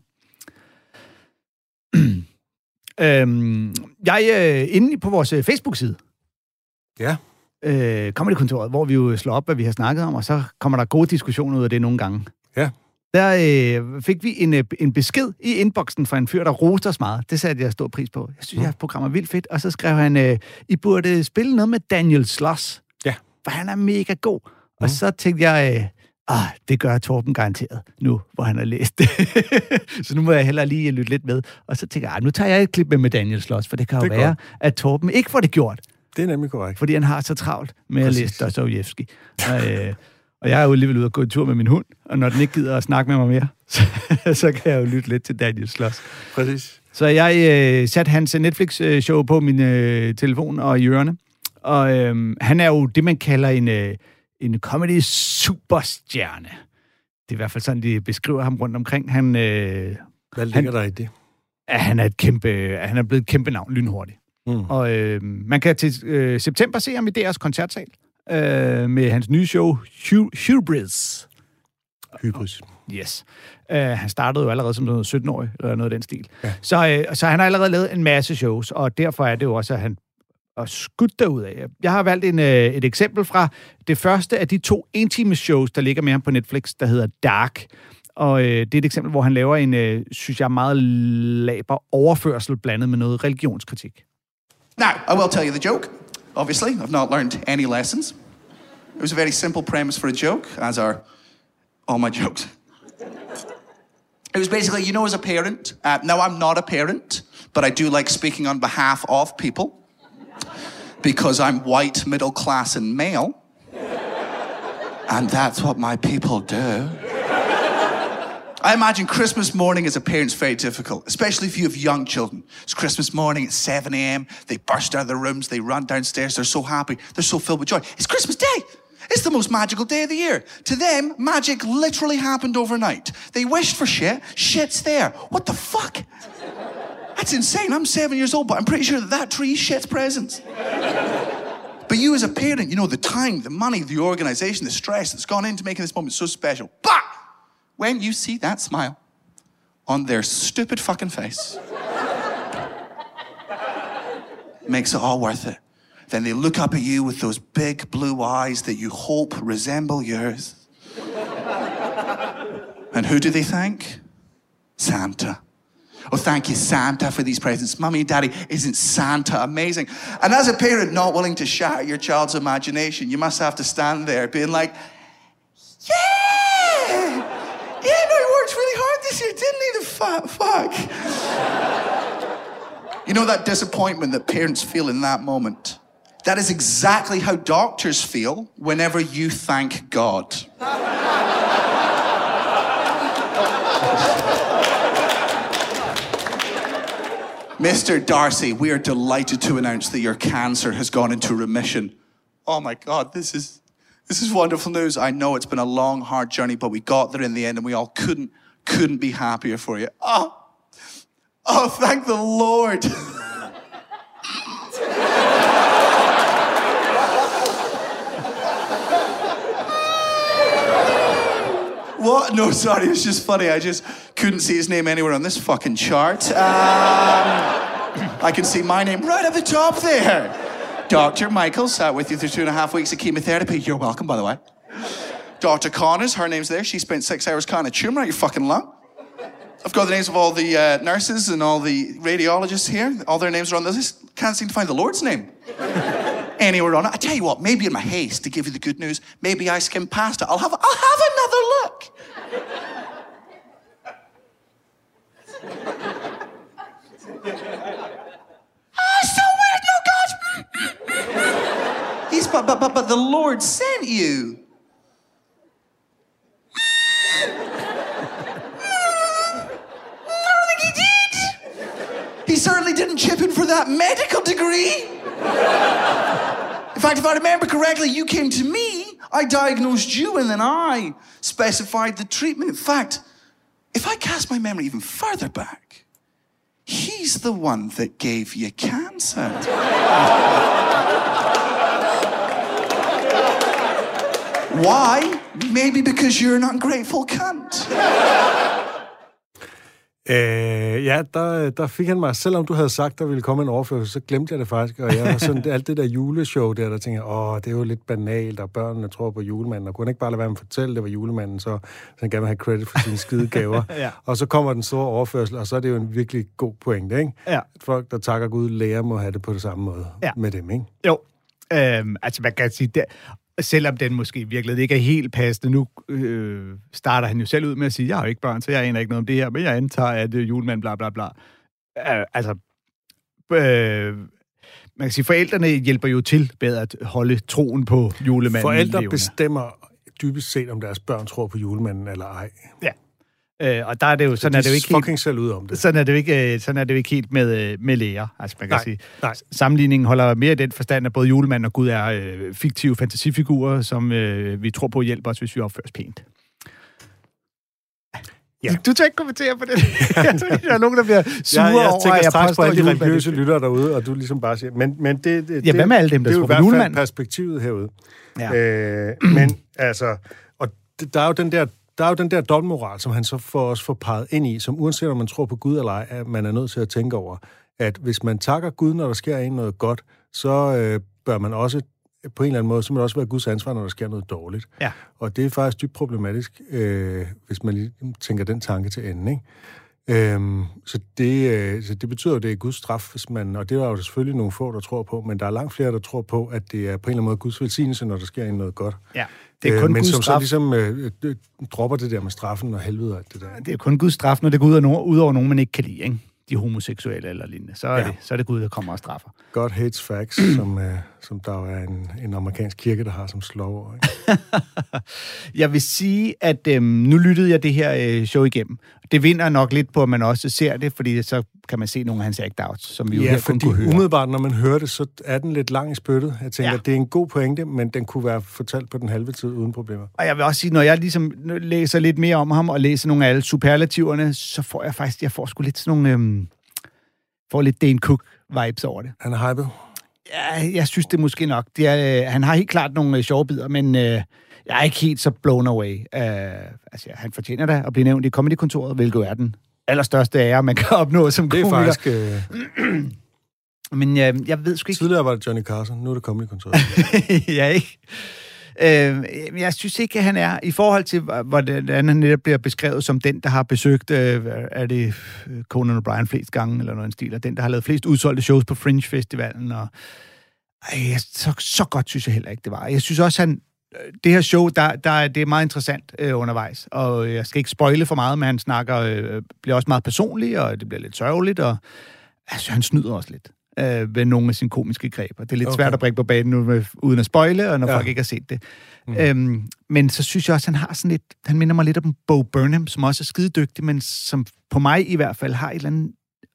[SPEAKER 3] Jeg inde på vores Facebook-side.
[SPEAKER 2] Ja.
[SPEAKER 3] Comedy-kontoret, hvor vi jo slår op, hvad vi har snakket om, og så kommer der gode diskussioner ud af det nogle gange.
[SPEAKER 2] Ja.
[SPEAKER 3] Der fik vi en besked i inboxen fra en fyr, der roste os meget. Det satte jeg stor pris på. Jeg synes, jeres program er vildt fedt. Og så skrev han, I burde spille noget med Daniel Sloss.
[SPEAKER 2] Ja.
[SPEAKER 3] For han er mega god. Og så tænkte jeg, det gør Torben garanteret nu, hvor han har læst det. Så nu må jeg hellere lige lytte lidt med. Og så tænker jeg, nu tager jeg et klip med Daniel Sloss, for det kan jo være, at Torben ikke får det gjort.
[SPEAKER 2] Det er nemlig korrekt.
[SPEAKER 3] Fordi han har så travlt med at læse Dostojevskij. Og jeg er jo alligevel ude og gå en tur med min hund, og når den ikke gider at snakke med mig mere, så kan jeg jo lytte lidt til Daniel Sloss.
[SPEAKER 2] Præcis.
[SPEAKER 3] Så jeg satte hans Netflix-show på min telefon og i ørerne. Og han er jo det, man kalder en comedy-superstjerne. Det er i hvert fald sådan, de beskriver ham rundt omkring.
[SPEAKER 2] Hvad ligger der i det?
[SPEAKER 3] Han er blevet et kæmpe navn, lynhurtigt. Og man kan til september se ham i DR's koncertsal. Med hans nye show, Hubris. Yes. Han startede jo allerede som noget 17-årig, eller noget af den stil. Ja. Så han har allerede lavet en masse shows, og derfor er det jo også, at han er skudt derudad. Jeg har valgt et eksempel fra det første af de 2 intime shows, der ligger med ham på Netflix, der hedder Dark. Og det er et eksempel, hvor han laver en, synes jeg, meget laber overførsel blandet med noget religionskritik.
[SPEAKER 6] Now, I will tell you the joke. Obviously, I've not learned any lessons. It was a very simple premise for a joke, as are all my jokes. It was basically, you know, as a parent, now I'm not a parent, but I do like speaking on behalf of people, because I'm white, middle class, and male. And that's what my people do. I imagine Christmas morning as a parent's very difficult, especially if you have young children. It's Christmas morning at 7 a.m. They burst out of their rooms, they run downstairs, they're so happy, they're so filled with joy. It's Christmas Day! It's the most magical day of the year. To them, magic literally happened overnight. They wished for shit, shit's there. What the fuck? That's insane. I'm 7 years old, but I'm pretty sure that tree shits presents. But you as a parent, you know, the time, the money, the organization, the stress that's gone into making this moment so special. But when you see that smile on their stupid fucking face, makes it all worth it. Then they look up at you with those big blue eyes that you hope resemble yours. And who do they thank? Santa. Oh, thank you, Santa, for these presents. Mummy, Daddy, isn't Santa amazing? And as a parent not willing to shatter your child's imagination, you must have to stand there being like, yeah! Yeah, no, he worked really hard this year, didn't he, the fat fuck? You know that disappointment that parents feel in that moment? That is exactly how doctors feel whenever you thank God. Mr. Darcy, we are delighted to announce that your cancer has gone into remission. Oh my God, this is wonderful news. I know it's been a long, hard journey, but we got there in the end, and we all couldn't be happier for you. Oh, thank the Lord. What? No, sorry, it's just funny. I just couldn't see his name anywhere on this fucking chart. I can see my name right at the top there. Dr. Michael sat with you through 2.5 weeks of chemotherapy. You're welcome, by the way. Dr. Connors, her name's there. She spent 6 hours cutting a tumour out your fucking lung. I've got the names of all the nurses and all the radiologists here. All their names are on the list. Can't seem to find the Lord's name anywhere on it. I tell you what, maybe in my haste to give you the good news, maybe I skimmed past it. I'll have another look. So weird, no God. But the Lord sent you. He certainly didn't chip in for that medical degree. In fact, if I remember correctly, you came to me, I diagnosed you, and then I specified the treatment. In fact, if I cast my memory even further back, he's the one that gave you cancer. Why? Maybe because you're an ungrateful cunt.
[SPEAKER 2] Ja, der fik han mig, selvom du havde sagt, der ville komme en overførsel, så glemte jeg det faktisk, og jeg var sådan, alt det der juleshow der tænker jeg, det er jo lidt banalt, og børnene tror på julemanden, og kunne ikke bare lade være med at fortælle, det var julemanden, så han gerne vil have credit for sine skide gaver. Ja. Og så kommer den store overførsel, og så er det jo en virkelig god pointe, ikke? Ja. Folk, der takker Gud, lærer må have det på det samme måde med dem, ikke?
[SPEAKER 3] Jo, altså man kan sige, det, selvom den måske virkelig ikke er helt passende. Nu starter han jo selv ud med at sige, jeg har jo ikke børn, så jeg aner ikke noget om det her, men jeg antager, at julemanden bla bla bla. Man kan sige, forældrene hjælper jo til med at holde troen på julemanden.
[SPEAKER 2] Forældre bestemmer dybest set, om deres børn tror på julemanden eller ej.
[SPEAKER 3] Ja. Og der er det jo, sådan er det jo ikke
[SPEAKER 2] helt selv ud om det.
[SPEAKER 3] Sådan er det jo ikke helt med læger. Altså man kan sige, sammenligningen holder mere i den forstand, at både julemanden og Gud er fiktive fantasifigurer, som vi tror på hjælper os, hvis vi opfører os pænt. Ja. Du tør ikke kommentere på det. Der er nogen, der bliver sure over,
[SPEAKER 2] jeg tænker straks på alle de religiøse lyttere derude, og du ligesom bare siger, men det
[SPEAKER 3] hvad med alle dem, der tror på julemanden?
[SPEAKER 2] Det er jo i hvert fald perspektivet herude. Ja. Men altså, og der er jo den der dobbeltmoral, som han så får peget ind i, som uanset om man tror på Gud eller ej, at man er nødt til at tænke over, at hvis man takker Gud, når der sker en noget godt, så bør man også på en eller anden måde, så må det også være Guds ansvar, når der sker noget dårligt. Ja. Og det er faktisk dybt problematisk, hvis man lige tænker den tanke til enden, ikke? Så det betyder jo, at det er Guds straf, hvis man, og det er jo selvfølgelig nogle få, der tror på, men der er langt flere, der tror på, at det er på en eller anden måde Guds velsignelse, når der sker en noget godt. Ja. Det er kun men Guds som straf. Så ligesom dropper det der med straffen og helvede og alt det der. Det
[SPEAKER 3] er kun Guds straf, når det går ud over nogen, man ikke kan lide, ikke? De homoseksuelle eller lignende. Så er det Gud, der kommer og straffer.
[SPEAKER 2] God hates facts, som der er en amerikansk kirke, der har som slår.
[SPEAKER 3] Jeg vil sige, at nu lyttede jeg det her show igennem. Det vinder nok lidt på, at man også ser det, fordi så kan man se nogle af hans act-outs, som vi jo her kun kunne høre.
[SPEAKER 2] Umiddelbart, når man hører det, så er den lidt lang i spyttet. Jeg tænker, at det er en god pointe, men den kunne være fortalt på den halve tid uden problemer.
[SPEAKER 3] Og jeg vil også sige, når jeg ligesom læser lidt mere om ham, og læser nogle af alle superlativerne, så får jeg faktisk, sgu lidt sådan nogle, får lidt Dane Cook-vibes over det.
[SPEAKER 2] Han er hyped?
[SPEAKER 3] Ja, jeg synes det måske nok. Han har helt klart nogle sjove bidder, men jeg er ikke helt så blown away. Han fortjener da at blive nævnt i Comedy-kontoret, hvilket er den allerstørste ære, man kan opnå som komiker.
[SPEAKER 2] Det er faktisk...
[SPEAKER 3] Men jeg ved sgu ikke...
[SPEAKER 2] Tidligere var det Johnny Carson, nu er det Comedy-kontoret.
[SPEAKER 3] Ja, ikke? Jeg synes ikke, at han er, i forhold til, hvordan han netop bliver beskrevet som den, der har besøgt, er det Conan O'Brien flest gange, eller noget en stil, og den, der har lavet flest udsolgte shows på Fringe Festivalen, og så godt synes jeg heller ikke, det var. Jeg synes også, det her show, det er meget interessant undervejs, og jeg skal ikke spoile for meget, men han bliver også meget personlig, og det bliver lidt sørgeligt, og altså, han snyder også lidt ved nogle af sine komiske greb. Det er lidt svært at bringe på banen nu, uden at spoile, og når folk ikke har set det. Men så synes jeg også, han har sådan lidt, han minder mig lidt om Bo Burnham, som også er skidedygtig, men som på mig i hvert fald har et eller andet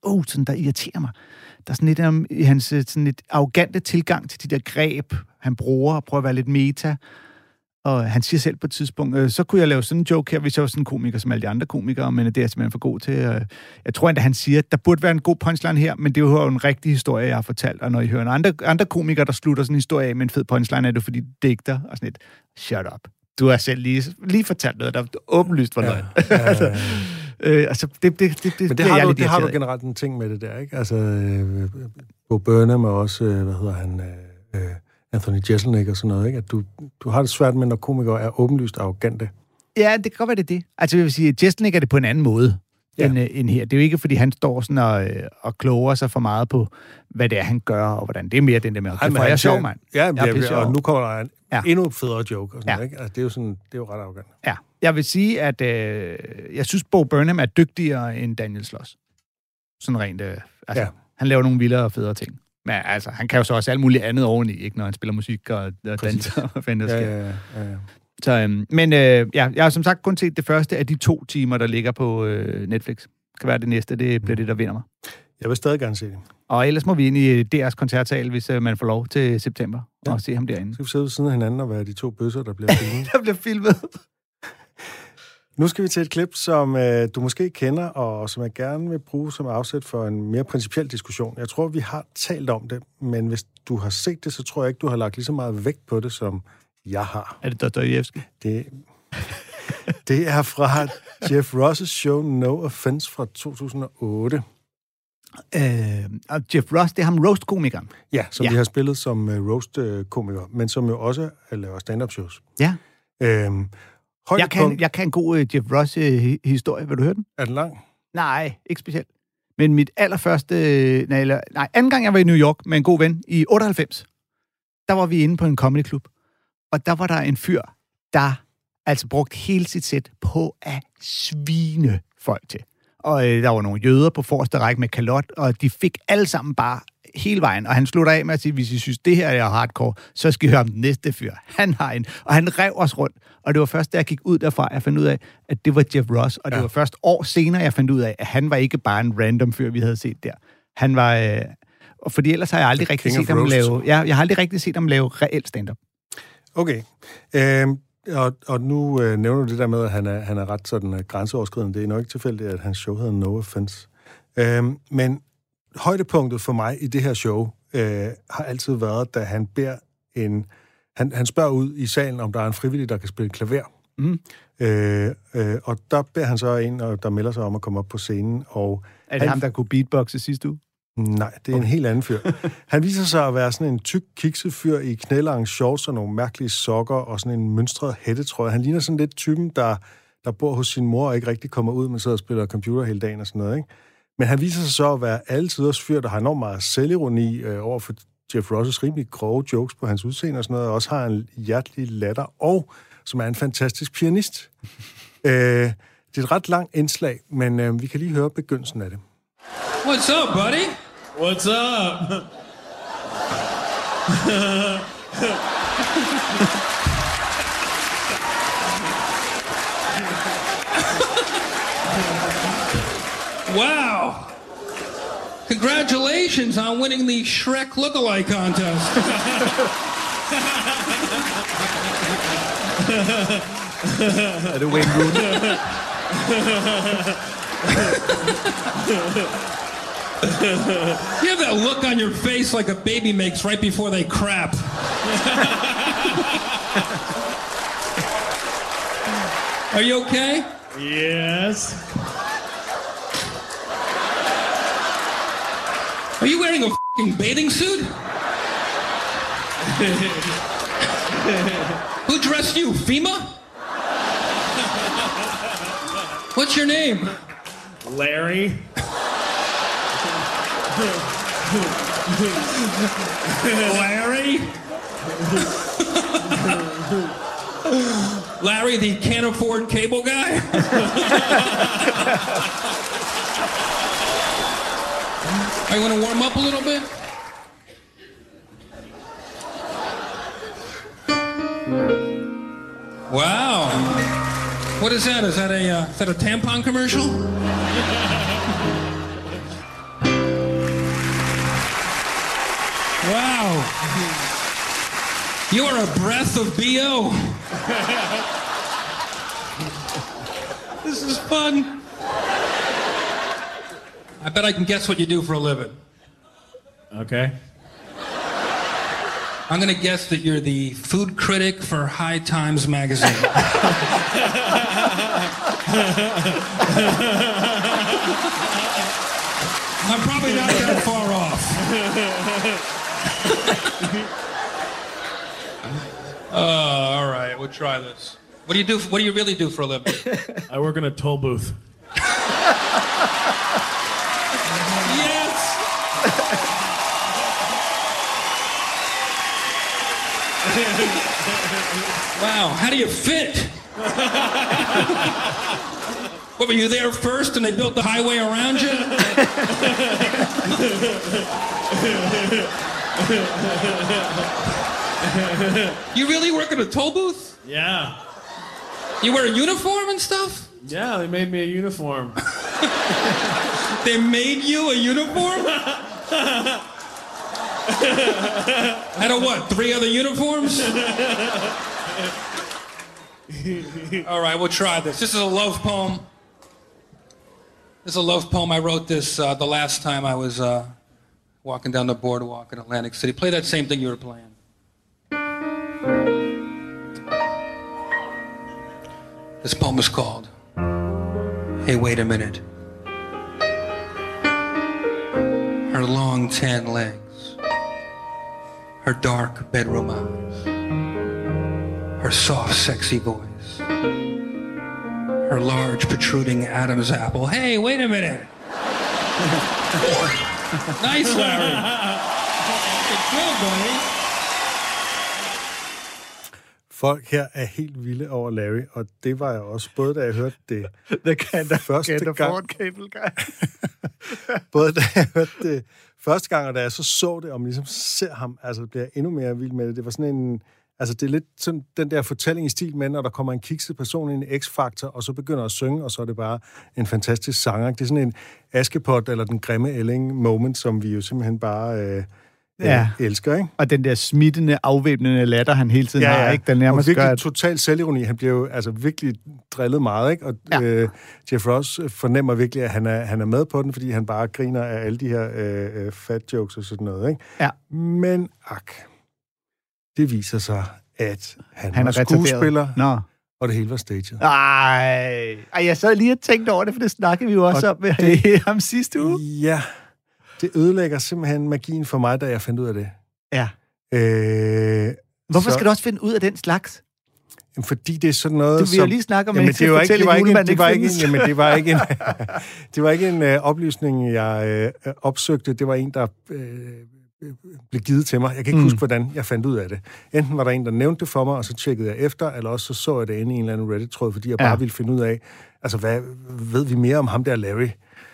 [SPEAKER 3] sådan, der irriterer mig. Der er sådan lidt om i hans sådan lidt arrogante tilgang til de der greb, han bruger, og prøver at være lidt meta. Og han siger selv på et tidspunkt, så kunne jeg lave sådan en joke her, hvis jeg var sådan en komiker som alle de andre komikere, men det er jeg simpelthen for god til. Jeg tror endda, han siger, at der burde være en god punchline her, men det er jo en rigtig historie, jeg har fortalt. Og når I hører andre komikere, der slutter sådan en historie af med en fed punchline, er det fordi, det digter og sådan et, shut up. Du har selv lige fortalt noget, der åbenlyst var løgn. Altså,
[SPEAKER 2] men det har du generelt en ting med det der, ikke? Altså, Bo Burnham og også, Anthony Jeselnik og sådan noget, ikke? At du har det svært med, når komikere er åbenlyst arrogante.
[SPEAKER 3] Ja, det kan godt være det. Altså, jeg vil sige, at Jeselnik er det på en anden måde end her. Det er jo ikke, fordi han står sådan og kloger sig for meget på, hvad det er, han gør, og hvordan. Det er mere den der med, det er sjov, mand.
[SPEAKER 2] Ja, og nu kommer der en endnu federe joke og sådan noget, ikke? Altså, det er jo ret arrogant.
[SPEAKER 3] Ja, jeg vil sige, at jeg synes, Bo Burnham er dygtigere end Daniel Sloss. Sådan rent, han laver nogle vildere og federe ting. Men altså, han kan jo så også alt muligt andet oveni, ikke, når han spiller musik og danser og hvad der sker. Ja. Så, men jeg har som sagt kun set det første af de 2 timer, der ligger på Netflix. Det kan være det næste, det bliver det, der vinder mig.
[SPEAKER 2] Jeg vil stadig gerne se det.
[SPEAKER 3] Og ellers må vi ind i DR's koncertsal, hvis man får lov til september, og se ham derinde.
[SPEAKER 2] Så skal vi sidde ved siden af hinanden og være de 2 bøsser, der bliver filmet.
[SPEAKER 3] Der bliver filmet.
[SPEAKER 2] Nu skal vi til et klip, som du måske kender, og som jeg gerne vil bruge som afsæt for en mere principiel diskussion. Jeg tror, vi har talt om det, men hvis du har set det, så tror jeg ikke, du har lagt lige så meget vægt på det, som jeg har.
[SPEAKER 3] Er det Dostojevskij?
[SPEAKER 2] Det er fra Jeff Ross' show No Offense fra 2008.
[SPEAKER 3] Og Jeff Ross, det er ham roast-komikeren.
[SPEAKER 2] Ja, som vi har spillet som roast-komiker, men som jo også laver stand-up shows.
[SPEAKER 3] Ja. Jeg kan en god Jeff Ross-historie. Vil du høre den?
[SPEAKER 2] Er den lang?
[SPEAKER 3] Nej, ikke specielt. Men mit allerførste... anden gang jeg var i New York med en god ven i 98, der var vi inde på en comedyklub. Og der var der en fyr, der altså brugte hele sit sæt på at svine folk til. Og der var nogle jøder på forreste række med kalot, og de fik alle sammen bare hele vejen. Og han slutter af med at sige, hvis I synes, det her er hardcore, så skal I høre om den næste fyr. Han har en. Og han rev os rundt. Og det var først, da jeg gik ud derfra, jeg fandt ud af, at det var Jeff Ross. Og det var først år senere, jeg fandt ud af, at han var ikke bare en random fyr, vi havde set der. Han var... fordi ellers har jeg aldrig rigtig set ham lave... Jeg har aldrig rigtig set ham lave reelt stand-up.
[SPEAKER 2] Okay. Og nu nævner du det der med, at han er ret sådan grænseoverskridende. Det er nok ikke tilfældigt, at hans show hedder No Offense. Men højdepunktet for mig i det her show har altid været, da han beder han spørger ud i salen, om der er en frivillig, der kan spille klaver. Og der beder han så en, der melder sig om at komme op på scenen. Og
[SPEAKER 3] er det ham, der kunne beatboxe sidste uge?
[SPEAKER 2] Nej, det er en helt anden fyr. Han viser sig at være sådan en tyk, kikset fyr i knælange shorts og nogle mærkelige sokker og sådan en mønstret hættetrøje. Han ligner sådan lidt typen, der bor hos sin mor og ikke rigtig kommer ud, men sidder og spiller computer hele dagen og sådan noget, ikke? Men han viser sig så at være altiders fyr, der har enormt meget selvironi over for Jeff Ross' rimelig grove jokes på hans udseende og sådan noget, og også har en hjertelig latter, og som er en fantastisk pianist. Det er et ret langt indslag, men vi kan lige høre begyndelsen af det.
[SPEAKER 7] What's up, buddy?
[SPEAKER 8] What's up?
[SPEAKER 7] Wow. Congratulations on winning the Shrek Lookalike Contest.
[SPEAKER 3] Er det Wayne Rooney?
[SPEAKER 7] You have that look on your face like a baby makes right before they crap. Are you okay?
[SPEAKER 8] Yes.
[SPEAKER 7] Are you wearing a f***ing bathing suit? Who dressed you, FEMA? What's your name?
[SPEAKER 8] Larry.
[SPEAKER 7] Larry? Larry, the can't afford cable guy? Are you want to warm up a little bit? Wow. What is that? Is that a tampon commercial? Wow. You are a breath of BO. This is fun. I bet I can guess what you do for a living.
[SPEAKER 8] Okay.
[SPEAKER 7] I'm going to guess that you're the food critic for High Times magazine. I'm probably not that far off. All right, we'll try this. What do you do? What do you really do for a living?
[SPEAKER 8] I work in a toll booth.
[SPEAKER 7] Yes. Wow, how do you fit? What, were you there first and they built the highway around you? You really work in a toll booth?
[SPEAKER 8] Yeah.
[SPEAKER 7] You wear a uniform and stuff?
[SPEAKER 8] Yeah, they made me a uniform.
[SPEAKER 7] They made you a uniform? Out of what, 3 other uniforms? All right, we'll try this. This is a love poem. This is a love poem. I wrote this the last time I was walking down the boardwalk in Atlantic City. Play that same thing you were playing. This poem is called Hey, Wait a Minute. Her long tan legs, her dark bedroom eyes, her soft, sexy voice, her large, protruding Adam's apple. Hey, wait a minute. Nice, Larry. Good, buddy.
[SPEAKER 2] Folk her er helt vilde over Larry, og det var jeg også, både da jeg hørte det første gang. Både da jeg hørte det første gang, og da jeg så det, og man ligesom ser ham, altså bliver jeg endnu mere vild med det. Det var sådan en, altså det er lidt sådan den der fortælling i stil med, når der kommer en kikset person ind i X-Factor, og så begynder at synge, og så er det bare en fantastisk sanger. Det er sådan en Askepot eller den grimme ælling moment, som vi jo simpelthen bare elsker, ikke?
[SPEAKER 3] Og den der smittende, afvæbnende latter, han hele tiden har, ikke? Den nærmest
[SPEAKER 2] og virkelig total selvironi. Han bliver jo altså virkelig drillet meget, ikke? Og Jeff Ross fornemmer virkelig, at han er med på den, fordi han bare griner af alle de her fat jokes og sådan noget, ikke?
[SPEAKER 3] Ja.
[SPEAKER 2] Men det viser sig, at han er skuespiller, og det hele var staged.
[SPEAKER 3] Ej, jeg sad lige og tænkte over det, for det snakkede vi jo også om med ham sidste uge.
[SPEAKER 2] Ja, det ødelægger simpelthen magien for mig, da jeg fandt ud af det.
[SPEAKER 3] Ja. Hvorfor skal du også finde ud af den slags?
[SPEAKER 2] Fordi det er sådan noget,
[SPEAKER 3] du vil jo lige snakke om,
[SPEAKER 2] det var ikke en oplysning, jeg opsøgte. Det var en, der blev givet til mig. Jeg kan ikke huske, hvordan jeg fandt ud af det. Enten var der en, der nævnte det for mig, og så tjekkede jeg efter, eller også så jeg det inde i en eller anden Reddit-tråd, fordi jeg bare ville finde ud af, altså, hvad ved vi mere om ham der Larry?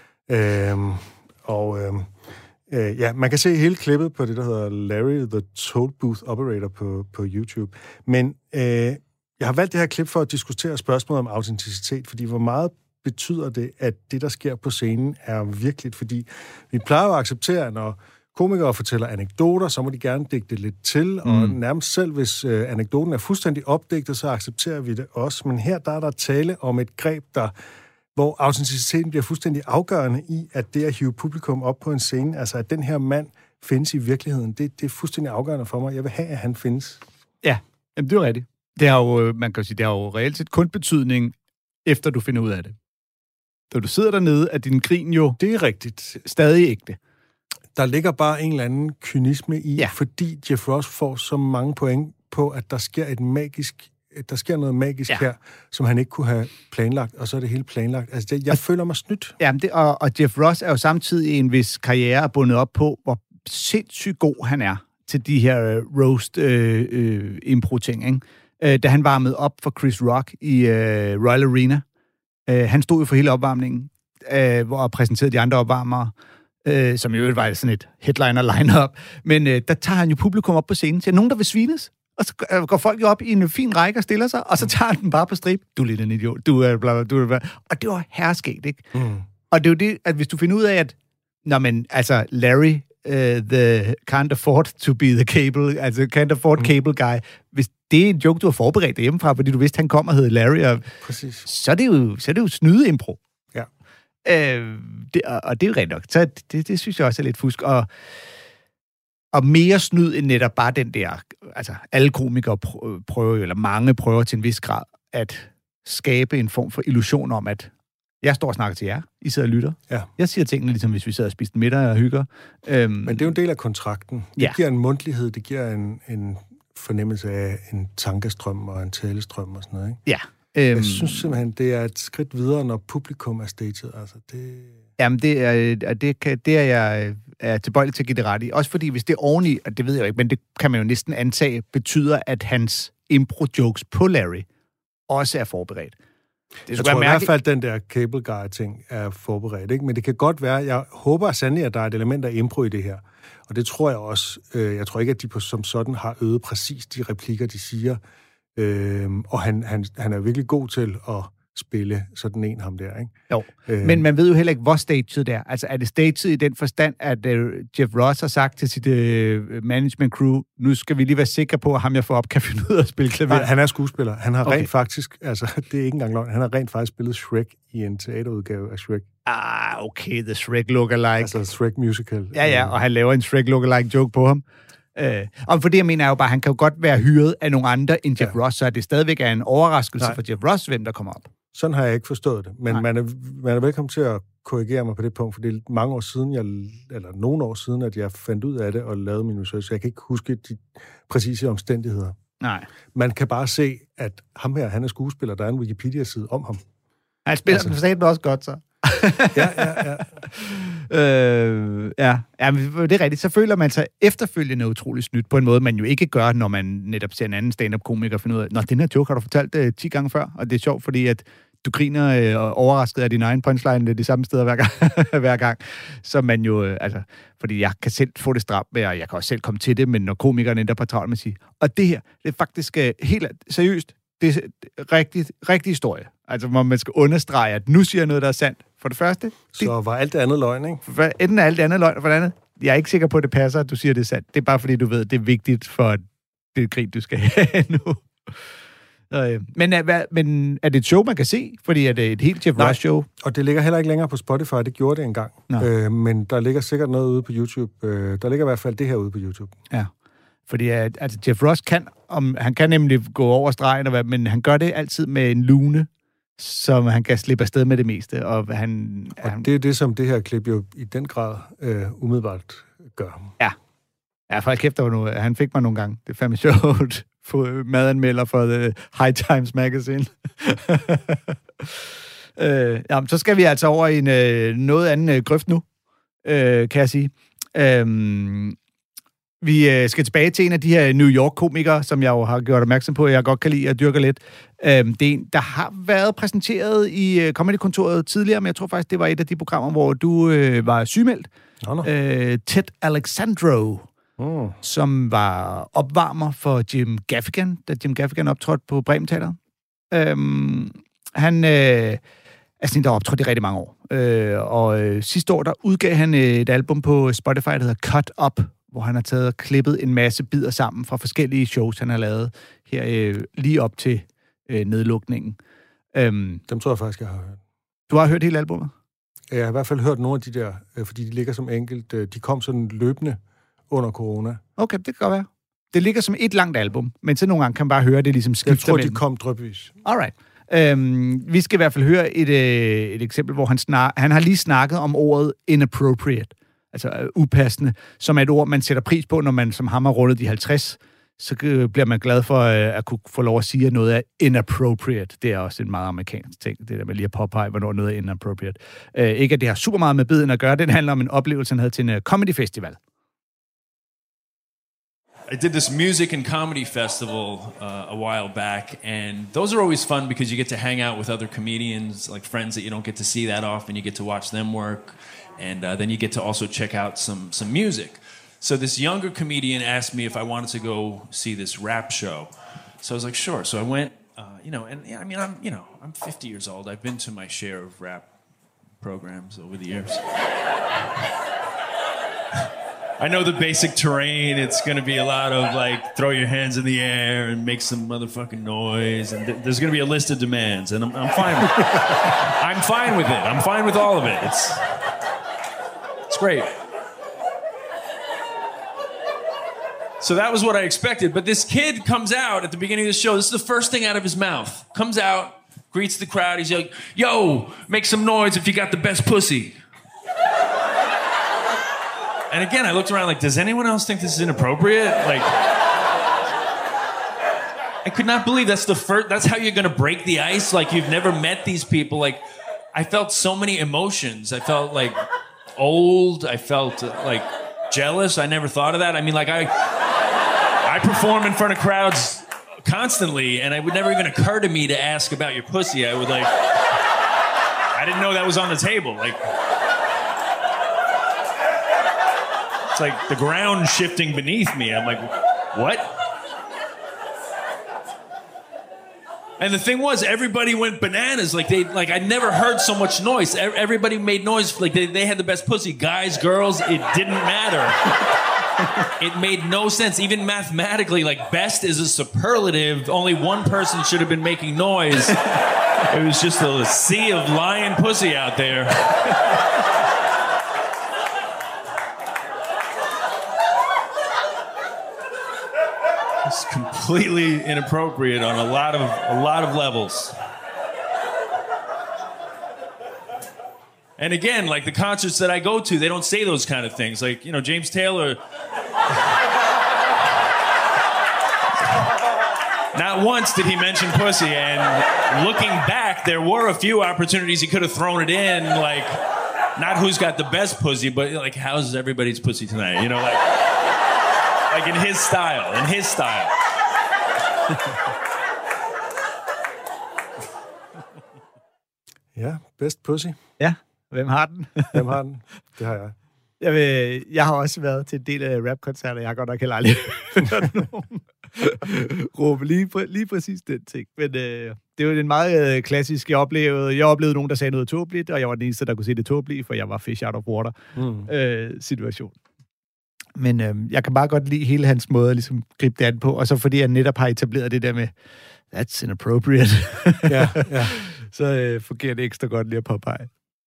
[SPEAKER 2] Man kan se hele klippet på det, der hedder Larry the Toll Booth Operator på YouTube. Men jeg har valgt det her klip for at diskutere spørgsmålet om autenticitet, fordi hvor meget betyder det, at det, der sker på scenen, er virkeligt? Fordi vi plejer at acceptere, at når komikere fortæller anekdoter, så må de gerne digte lidt til, og nærmest selv, hvis anekdoten er fuldstændig opdigtet, så accepterer vi det også. Men her der er der tale om et greb, hvor autenticiteten bliver fuldstændig afgørende i, at det at hive publikum op på en scene, altså at den her mand findes i virkeligheden, det er fuldstændig afgørende for mig. Jeg vil have, at han findes.
[SPEAKER 3] Ja, jamen, det er rigtigt. Det har jo, man kan sige, det har jo reelt set kun betydning, efter du finder ud af det. Da du sidder dernede, er din grin jo...
[SPEAKER 2] Det er rigtigt.
[SPEAKER 3] Stadig ægte.
[SPEAKER 2] Der ligger bare en eller anden kynisme i, fordi Jeff Ross får så mange point på, at der sker noget magisk her, som han ikke kunne have planlagt, og så er det hele planlagt. Altså, jeg føler mig snydt.
[SPEAKER 3] Jamen, og Jeff Ross er jo samtidig en vis karriere bundet op på, hvor sindssygt god han er til de her roast impro-ting, ikke? Da han varmede op for Chris Rock i Royal Arena. Han stod jo for hele opvarmningen, hvor præsenterede de andre opvarmere, som jo var sådan et headliner-line-up. Men der tager han jo publikum op på scenen til nogen, der vil svines. Og så går folk jo op i en fin række og stiller sig, og så tager den bare på strip. Du er lidt en idiot. Du er bla bla bla. Og det var herskægt, ikke? Og det er jo det, at hvis du finder ud af, at Larry the can't afford to be the cable, altså can't afford cable guy. Hvis det er en joke, du har forberedt hjemmefra, fordi du vidste, han kom og hed Larry,
[SPEAKER 2] Præcis.
[SPEAKER 3] så er det jo snyde impro.
[SPEAKER 2] Ja.
[SPEAKER 3] Og det er jo rent nok. Så det synes jeg også er lidt fusk. Og mere snyd end netop bare den der, altså alle komikere prøver, eller mange prøver til en vis grad, at skabe en form for illusion om, at jeg står og snakker til jer, I sidder og lytter.
[SPEAKER 2] Ja.
[SPEAKER 3] Jeg siger tingene, ligesom hvis vi sidder og spiser middag og hygger.
[SPEAKER 2] Men det er jo en del af kontrakten. Det giver en mundtlighed, det giver en fornemmelse af en tankestrøm og en talestrøm og sådan noget, ikke?
[SPEAKER 3] Ja.
[SPEAKER 2] Jeg synes simpelthen, det er et skridt videre, når publikum er staged. Altså, det...
[SPEAKER 3] Jamen, det er jeg tilbøjelig til at give det ret i. Også fordi, hvis det er oveni, og det ved jeg jo ikke, men det kan man jo næsten antage, betyder, at hans impro-jokes på Larry også er forberedt.
[SPEAKER 2] Jeg tror i hvert fald, at den der cable guy-ting er forberedt, ikke? Men det kan godt være, jeg håber sandelig, at der er et element af impro i det her. Og det tror jeg også. Jeg tror ikke, at de som sådan har øvet præcis de replikker, de siger. Og han er virkelig god til at spille sådan en ham der, ikke?
[SPEAKER 3] Jo, men man ved jo heller ikke, hvor staged det er. Altså, er det staged i den forstand, at Jeff Ross har sagt til sit management crew, nu skal vi lige være sikre på, at ham jeg får op, kan finde ud af at spille klaver?
[SPEAKER 2] Nej, han er skuespiller. Han har rent faktisk, altså, det er ikke engang løgn, han har rent faktisk spillet Shrek i en teaterudgave af Shrek.
[SPEAKER 3] Okay, the Shrek lookalike.
[SPEAKER 2] Altså Shrek musical.
[SPEAKER 3] Ja, og han laver en Shrek lookalike joke på ham. Og for det, jeg mener, er jo bare, han kan jo godt være hyret af nogle andre end Jeff Ross, så det stadigvæk er en overraskelse for Jeff Ross, hvem der kommer op.
[SPEAKER 2] Sådan har jeg ikke forstået det, men man er velkommen til at korrigere mig på det punkt, for det er mange år siden, nogle år siden, at jeg fandt ud af det og lavede min research, så jeg kan ikke huske de præcise omstændigheder.
[SPEAKER 3] Nej.
[SPEAKER 2] Man kan bare se, at ham her, han er skuespiller, der er en Wikipedia-side om ham.
[SPEAKER 3] Han spiller den forstået også godt, så. Ja, men det er rigtigt. Så føler man sig efterfølgende utrolig snydt på en måde, man jo ikke gør, når man netop ser en anden stand-up-komiker og finder ud af, nå, den her joke har du fortalt 10 gange før, og det er sjovt, fordi at du griner overrasket af din egen punchline de samme steder hver gang. Så man jo, fordi jeg kan selv få det stramt med, og jeg kan også selv komme til det, men når komikerne endda på travlt med at sige, og det her, det er faktisk helt seriøst, det er rigtig historie. Altså, hvor man skal understrege, at nu siger jeg noget, der er sandt. For det første...
[SPEAKER 2] Så var alt det andet løgn, ikke?
[SPEAKER 3] Enten er alt det andet løgn, og for det andet, jeg er ikke sikker på, at det passer, at du siger, det er sandt. Det er bare fordi, du ved, det er vigtigt for det grin, du skal have nu. Men er det et show, man kan se? Fordi er det et helt Jeff Ross show?
[SPEAKER 2] Og det ligger heller ikke længere på Spotify. Det gjorde det engang. Men der ligger sikkert noget ude på YouTube. Der ligger i hvert fald det her ude på YouTube.
[SPEAKER 3] Ja. Fordi Jeff Ross han kan nemlig gå over stregen, men han gør det altid med en lune, som han kan slippe afsted med det meste. Og det
[SPEAKER 2] er det, som det her klip jo i den grad umiddelbart gør.
[SPEAKER 3] Ja, for kæft, han fik mig nogle gange. Det er fandme sjovt. Få madanmelder for The High Times Magazine. Så skal vi altså over i en noget anden grøft nu, kan jeg sige. Vi skal tilbage til en af de her New York-komikere, som jeg jo har gjort opmærksom på, jeg godt kan lide at dyrke lidt. Det er en, der har været præsenteret i Comedy-kontoret tidligere, men jeg tror faktisk, det var et af de programmer, hvor du var sygemeldt. Ted Alexandro, som var opvarmer for Jim Gaffigan, da Jim Gaffigan optrådte på Bremen Teatret. Han der har optrådt i rigtig mange år. Og sidste år, der udgav han et album på Spotify, der hedder Cut Up, hvor han har taget og klippet en masse bidder sammen fra forskellige shows, han har lavet her lige op til nedlukningen.
[SPEAKER 2] Dem tror jeg faktisk, jeg har hørt.
[SPEAKER 3] Du har hørt hele albumet?
[SPEAKER 2] Jeg har i hvert fald hørt nogle af de der, fordi de ligger som enkelt. De kom sådan løbende under corona.
[SPEAKER 3] Okay, det kan godt være. Det ligger som et langt album, men så nogle gange kan man bare høre det ligesom skifter.
[SPEAKER 2] Jeg tror, de kom drypvis.
[SPEAKER 3] Alright. Vi skal i hvert fald høre et eksempel, hvor han har lige snakket om ordet inappropriate, altså upassende, som er et ord, man sætter pris på, når man som ham har rundet de 50, så bliver man glad for at kunne få lov at sige, at noget er inappropriate. Det er også en meget amerikansk ting, det der med lige at påpege, hvornår noget er inappropriate. Ikke at det har super meget med biden at gøre, den handler om en oplevelse, han havde til en comedy festival.
[SPEAKER 9] I did this music and comedy festival a while back, and those are always fun because you get to hang out with other comedians, like friends that you don't get to see that often. You get to watch them work, and then you get to also check out some music. So this younger comedian asked me if I wanted to go see this rap show. So I was like, sure. So I went, I'm 50 years old. I've been to my share of rap programs over the years. I know the basic terrain. It's going to be a lot of like throw your hands in the air and make some motherfucking noise, and there's going to be a list of demands, and I'm fine with it. I'm fine with it. I'm fine with all of it. It's great. So that was what I expected. But this kid comes out at the beginning of the show. This is the first thing out of his mouth. Comes out, greets the crowd. He's like, "Yo, make some noise if you got the best pussy." And again, I looked around like, does anyone else think this is inappropriate? Like, I could not believe that's how you're going to break the ice. Like, you've never met these people. Like, I felt so many emotions. I felt like old. I felt like jealous. I never thought of that. I mean, like, I perform in front of crowds constantly, and it would never even occur to me to ask about your pussy. I didn't know that was on the table. Like, it's like the ground shifting beneath me. I'm like, what? And the thing was, everybody went bananas. I'd never heard so much noise. Everybody made noise. Like they had the best pussy. Guys, girls, it didn't matter. It made no sense. Even mathematically, like best is a superlative. Only one person should have been making noise. It was just a sea of lion pussy out there. It's completely inappropriate on a lot of levels. And again, like the concerts that I go to, they don't say those kind of things. Like, you know, James Taylor. Not once did he mention pussy, and looking back, there were a few opportunities he could have thrown it in, like, not who's got the best pussy, but like, how's everybody's pussy tonight? You know, like in his style,
[SPEAKER 2] Ja, best pussy.
[SPEAKER 3] Ja, hvem har den?
[SPEAKER 2] Hvem har den? Det har jeg.
[SPEAKER 3] Jeg har også været til en del af rapkoncerter. Jeg har godt nok heller aldrig hørt nogen råbe lige præcis den ting. Men det er jo en meget klassisk, jeg oplevede nogen, der sagde noget tåbeligt, og jeg var den eneste, der kunne se det tåbelige, for jeg var fish out of water situation. Men jeg kan bare godt lide hele hans måde at ligesom gribe det an på, og så fordi jeg netop har etableret det der med, that's inappropriate.
[SPEAKER 2] Ja.
[SPEAKER 3] Så fungerer det ekstra godt lige at påpege.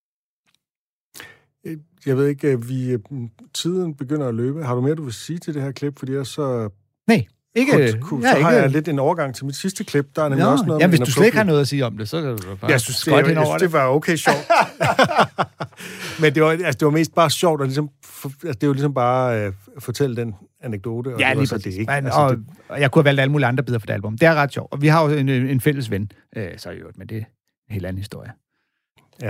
[SPEAKER 2] Jeg ved ikke, tiden begynder at løbe. Har du mere, du vil sige til det her klip? Fordi jeg så...
[SPEAKER 3] Nej, ikke.
[SPEAKER 2] Så har jeg lidt en overgang til mit sidste klip. Der er nemlig også noget...
[SPEAKER 3] Jamen, hvis du slet ikke har noget at sige om det, så kan du bare...
[SPEAKER 2] Jeg synes, det var okay sjovt. Men det var mest bare sjovt, og ligesom, det er jo ligesom bare fortælle den anekdote. Og
[SPEAKER 3] ja,
[SPEAKER 2] det
[SPEAKER 3] lige præcis. Og jeg kunne have valgt alle mulige andre bidder for det album. Det er ret sjovt. Og vi har jo en fælles ven, så i øvrigt, men det er en helt anden historie.
[SPEAKER 2] Ja.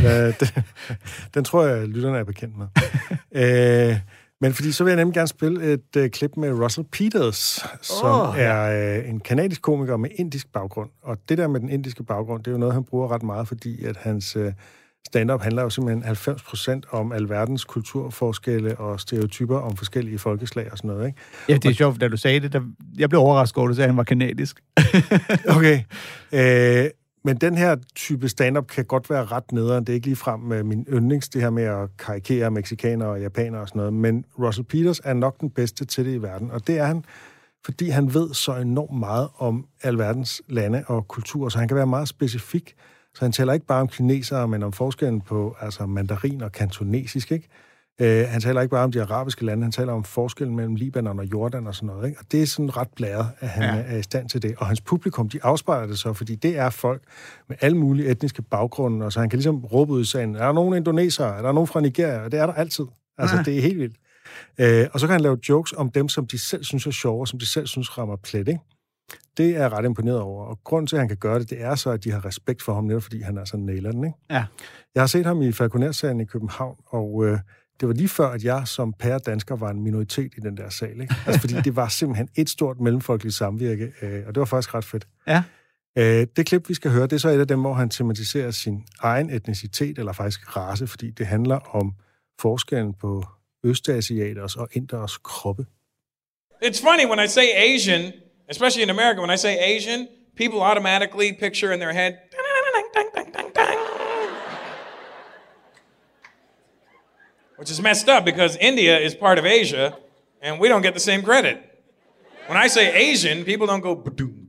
[SPEAKER 2] Den tror jeg, lytterne er bekendt med. Men fordi så vil jeg nemlig gerne spille et klip med Russell Peters, som er en kanadisk komiker med indisk baggrund. Og det der med den indiske baggrund, det er jo noget, han bruger ret meget, fordi at hans stand-up handler jo simpelthen 90% om alverdens kulturforskelle og stereotyper om forskellige folkeslag og sådan noget, ikke?
[SPEAKER 3] Ja, det er sjovt, da du sagde det. Jeg blev overrasket over, at du sagde, at han var kanadisk.
[SPEAKER 2] Okay. Men den her type stand-up kan godt være ret nederen. Det er ikke ligefrem med min yndlings, det her med at karikere mexikanere og japanere og sådan noget. Men Russell Peters er nok den bedste til det i verden. Og det er han, fordi han ved så enormt meget om alverdens lande og kulturer, så han kan være meget specifik. Så han taler ikke bare om kinesere, men om forskellen på mandarin og kantonesisk, ikke? Han taler ikke bare om de arabiske lande, han taler om forskellen mellem Libanon og Jordan og sådan noget, ikke? Og det er sådan ret blæret, at han er i stand til det. Og hans publikum, de afspejler det så, fordi det er folk med alle mulige etniske baggrunde, og så han kan ligesom råbe ud i sagen, er der nogen indonesere, er der nogen fra Nigeria? Og det er der altid. Altså, det er helt vildt. Og så kan han lave jokes om dem, som de selv synes er sjove, og som de selv synes rammer plet, ikke? Det er jeg ret imponeret over. Og grunden til, at han kan gøre det, det er så, at de har respekt for ham, netop fordi han er sådan nailer den, ikke?
[SPEAKER 3] Ja.
[SPEAKER 2] Jeg har set ham i Falconer-serien i København, og det var lige før, at jeg som pæredansker var en minoritet i den der sal, ikke? Altså, fordi det var simpelthen et stort mellemfolkeligt samvirke, og det var faktisk ret fedt.
[SPEAKER 3] Ja.
[SPEAKER 2] Det klip, vi skal høre, det er så et af dem, hvor han tematiserer sin egen etnicitet, eller faktisk race, fordi det handler om forskellen på østasiaters og inders kroppe.
[SPEAKER 10] It's funny when I say Asian, especially in America, when I say Asian, people automatically picture in their head, which is messed up because India is part of Asia, and we don't get the same credit. When I say Asian, people don't go...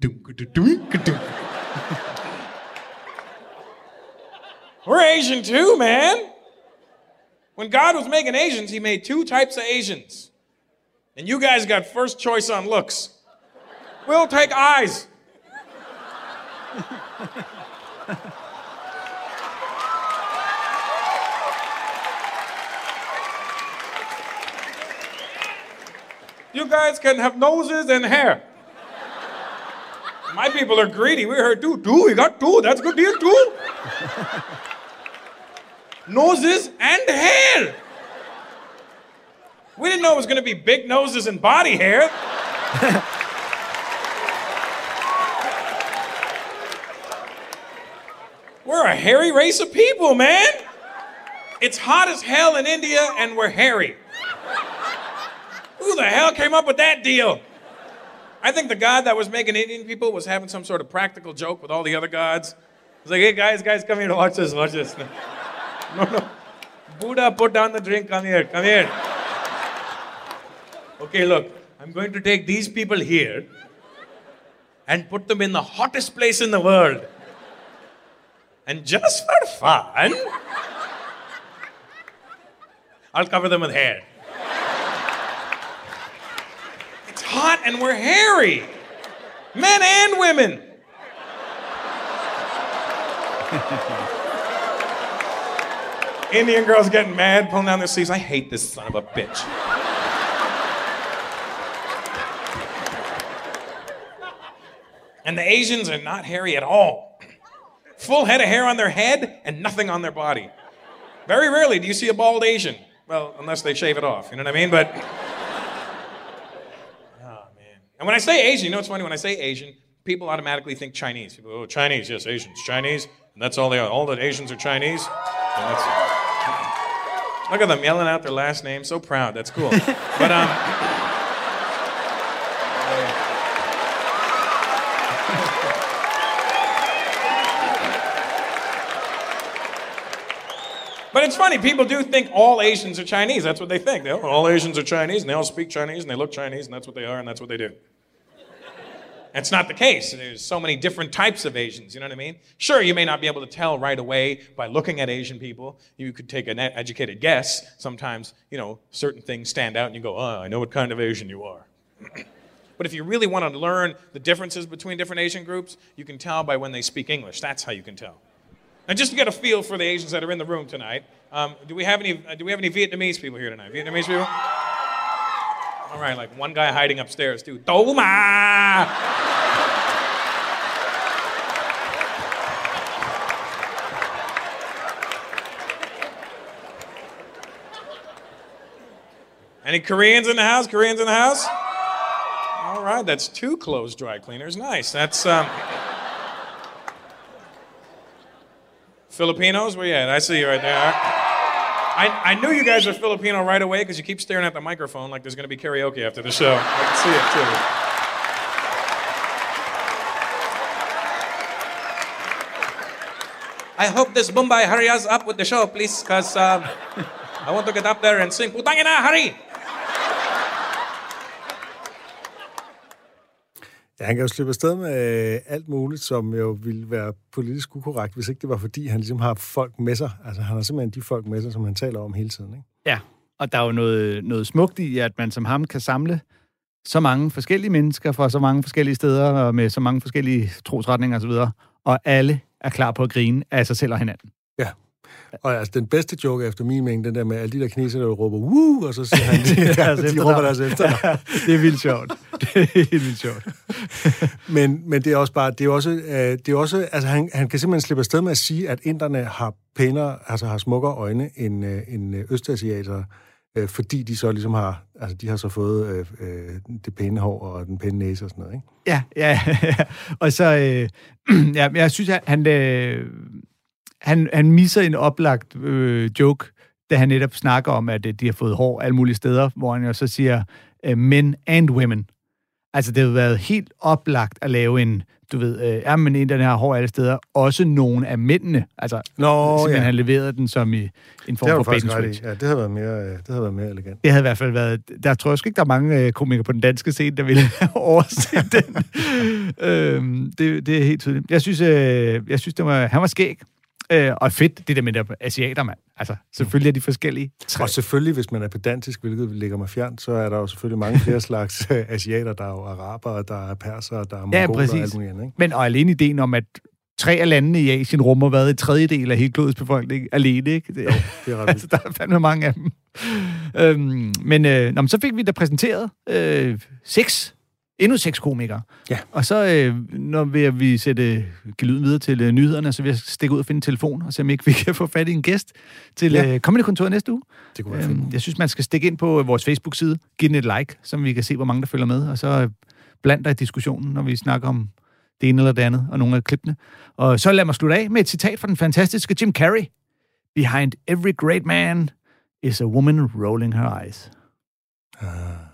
[SPEAKER 10] We're Asian too, man. When God was making Asians, he made 2 types of Asians. And you guys got first choice on looks. We'll take eyes. You guys can have noses and hair. My people are greedy. We heard 2. We got 2. That's a good deal, 2. Noses and hair. We didn't know it was going to be big noses and body hair. We're a hairy race of people, man. It's hot as hell in India, and we're hairy. Who the hell came up with that deal? I think the god that was making Indian people was having some sort of practical joke with all the other gods. He's like, hey, guys, come here, watch this. No. Buddha, put down the drink, come here. Okay, look, I'm going to take these people here and put them in the hottest place in the world. And just for fun, I'll cover them with hair. It's hot and we're hairy. Men and women. Indian girls getting mad, pulling down their sleeves. I hate this son of a bitch. And the Asians are not hairy at all. Full head of hair on their head and nothing on their body. Very rarely do you see a bald Asian. Well, unless they shave it off, you know what I mean? But, oh man. And when I say Asian, you know what's funny? When I say Asian, people automatically think Chinese. People go, oh, Chinese, yes, Asians, Chinese. And that's all they are. All the Asians are Chinese. Look at them yelling out their last name. So proud. That's cool. But it's funny, people do think all Asians are Chinese. That's what they think. All Asians are Chinese, and they all speak Chinese, and they look Chinese, and that's what they are, and that's what they do. That's not the case. There's so many different types of Asians, you know what I mean? Sure, you may not be able to tell right away by looking at Asian people. You could take an educated guess. Sometimes, certain things stand out, and you go, I know what kind of Asian you are. But if you really want to learn the differences between different Asian groups, you can tell by when they speak English. That's how you can tell. And just to get a feel for the Asians that are in the room tonight, do we have any Vietnamese people here tonight? Vietnamese people? All right, like one guy hiding upstairs too. Do ma! Any Koreans in the house? All right, that's 2 clothes dry cleaners. Nice. That's Filipinos? Where you at? I see you right there. I knew you guys were Filipino right away because you keep staring at the microphone like there's going to be karaoke after the show. I can see it, too. I hope this Mumbai hurries up with the show, please, because I want to get up there and sing, Putang ina, hurry!
[SPEAKER 2] Ja, han kan jo slippe afsted med alt muligt, som jo ville være politisk ukorrekt, hvis ikke det var, fordi han ligesom har folk med sig. Altså, han har simpelthen de folk med sig, som han taler om hele tiden, ikke?
[SPEAKER 3] Ja, og der er jo noget smukt i, at man som ham kan samle så mange forskellige mennesker fra så mange forskellige steder, og med så mange forskellige trosretninger osv., og alle er klar på at grine af sig selv og hinanden.
[SPEAKER 2] Ja. Og altså, den bedste joke efter min mening, den der med alle de der kinesere, der råber, woo, og så siger han, de råber deres efter.
[SPEAKER 3] Ja, det er vildt sjovt. Det er helt vildt sjovt.
[SPEAKER 2] men det er også bare, det er også, altså han kan simpelthen slippe afsted med at sige, at inderne har pænere, altså har smukkere øjne end østasiater, fordi de så ligesom har, altså de har så fået det pæne hår og den pæne næse og sådan noget, ikke?
[SPEAKER 3] Ja. Og så, jeg synes, at han misser en oplagt joke, da han netop snakker om, at de har fået hår alle mulige steder, hvor han jo så siger men and women. Altså, det har været helt oplagt at lave en, du ved, men en, den her hår alle steder, også nogle af mændene. Altså, simpelthen han leverede den som i en form for bait and switch.
[SPEAKER 2] Ja, det havde været mere elegant.
[SPEAKER 3] Det havde i hvert fald været... Der tror jeg sgu ikke, der er mange komikere på den danske scene, der ville have overset den. Det er helt tydeligt. Jeg synes han var skæg. Og fedt, det der med der asiater, mand. Altså, selvfølgelig er de forskellige.
[SPEAKER 2] Og selvfølgelig, hvis man er pedantisk, hvilket ligger mig fjernt, så er der jo selvfølgelig mange flere slags asiater. Der er jo arabere, der er persere, der er mongoler og alt muligt andet, ikke?
[SPEAKER 3] Men og alene ideen om, at 3 af landene i Asien rummer hvad, en tredjedel af hele klodets befolkning alene, ikke?
[SPEAKER 2] Jo, det er ret
[SPEAKER 3] altså, der er fandme mange af dem. Men så fik vi da præsenteret endnu 6 komikere.
[SPEAKER 2] Ja.
[SPEAKER 3] Og så når vi give lyden videre til nyhederne, så vil jeg stikke ud og finde en telefon, og se om ikke vi kan få fat i en gæst til Comedy-kontoret næste uge.
[SPEAKER 2] Det kunne være fint.
[SPEAKER 3] Jeg synes, man skal stikke ind på vores Facebook-side, give den et like, så vi kan se, hvor mange der følger med, og så bland dig i diskussionen, når vi snakker om det ene eller det andet, og nogle af klippene. Og så lad mig slutte af med et citat fra den fantastiske Jim Carrey. Behind every great man is a woman rolling her eyes.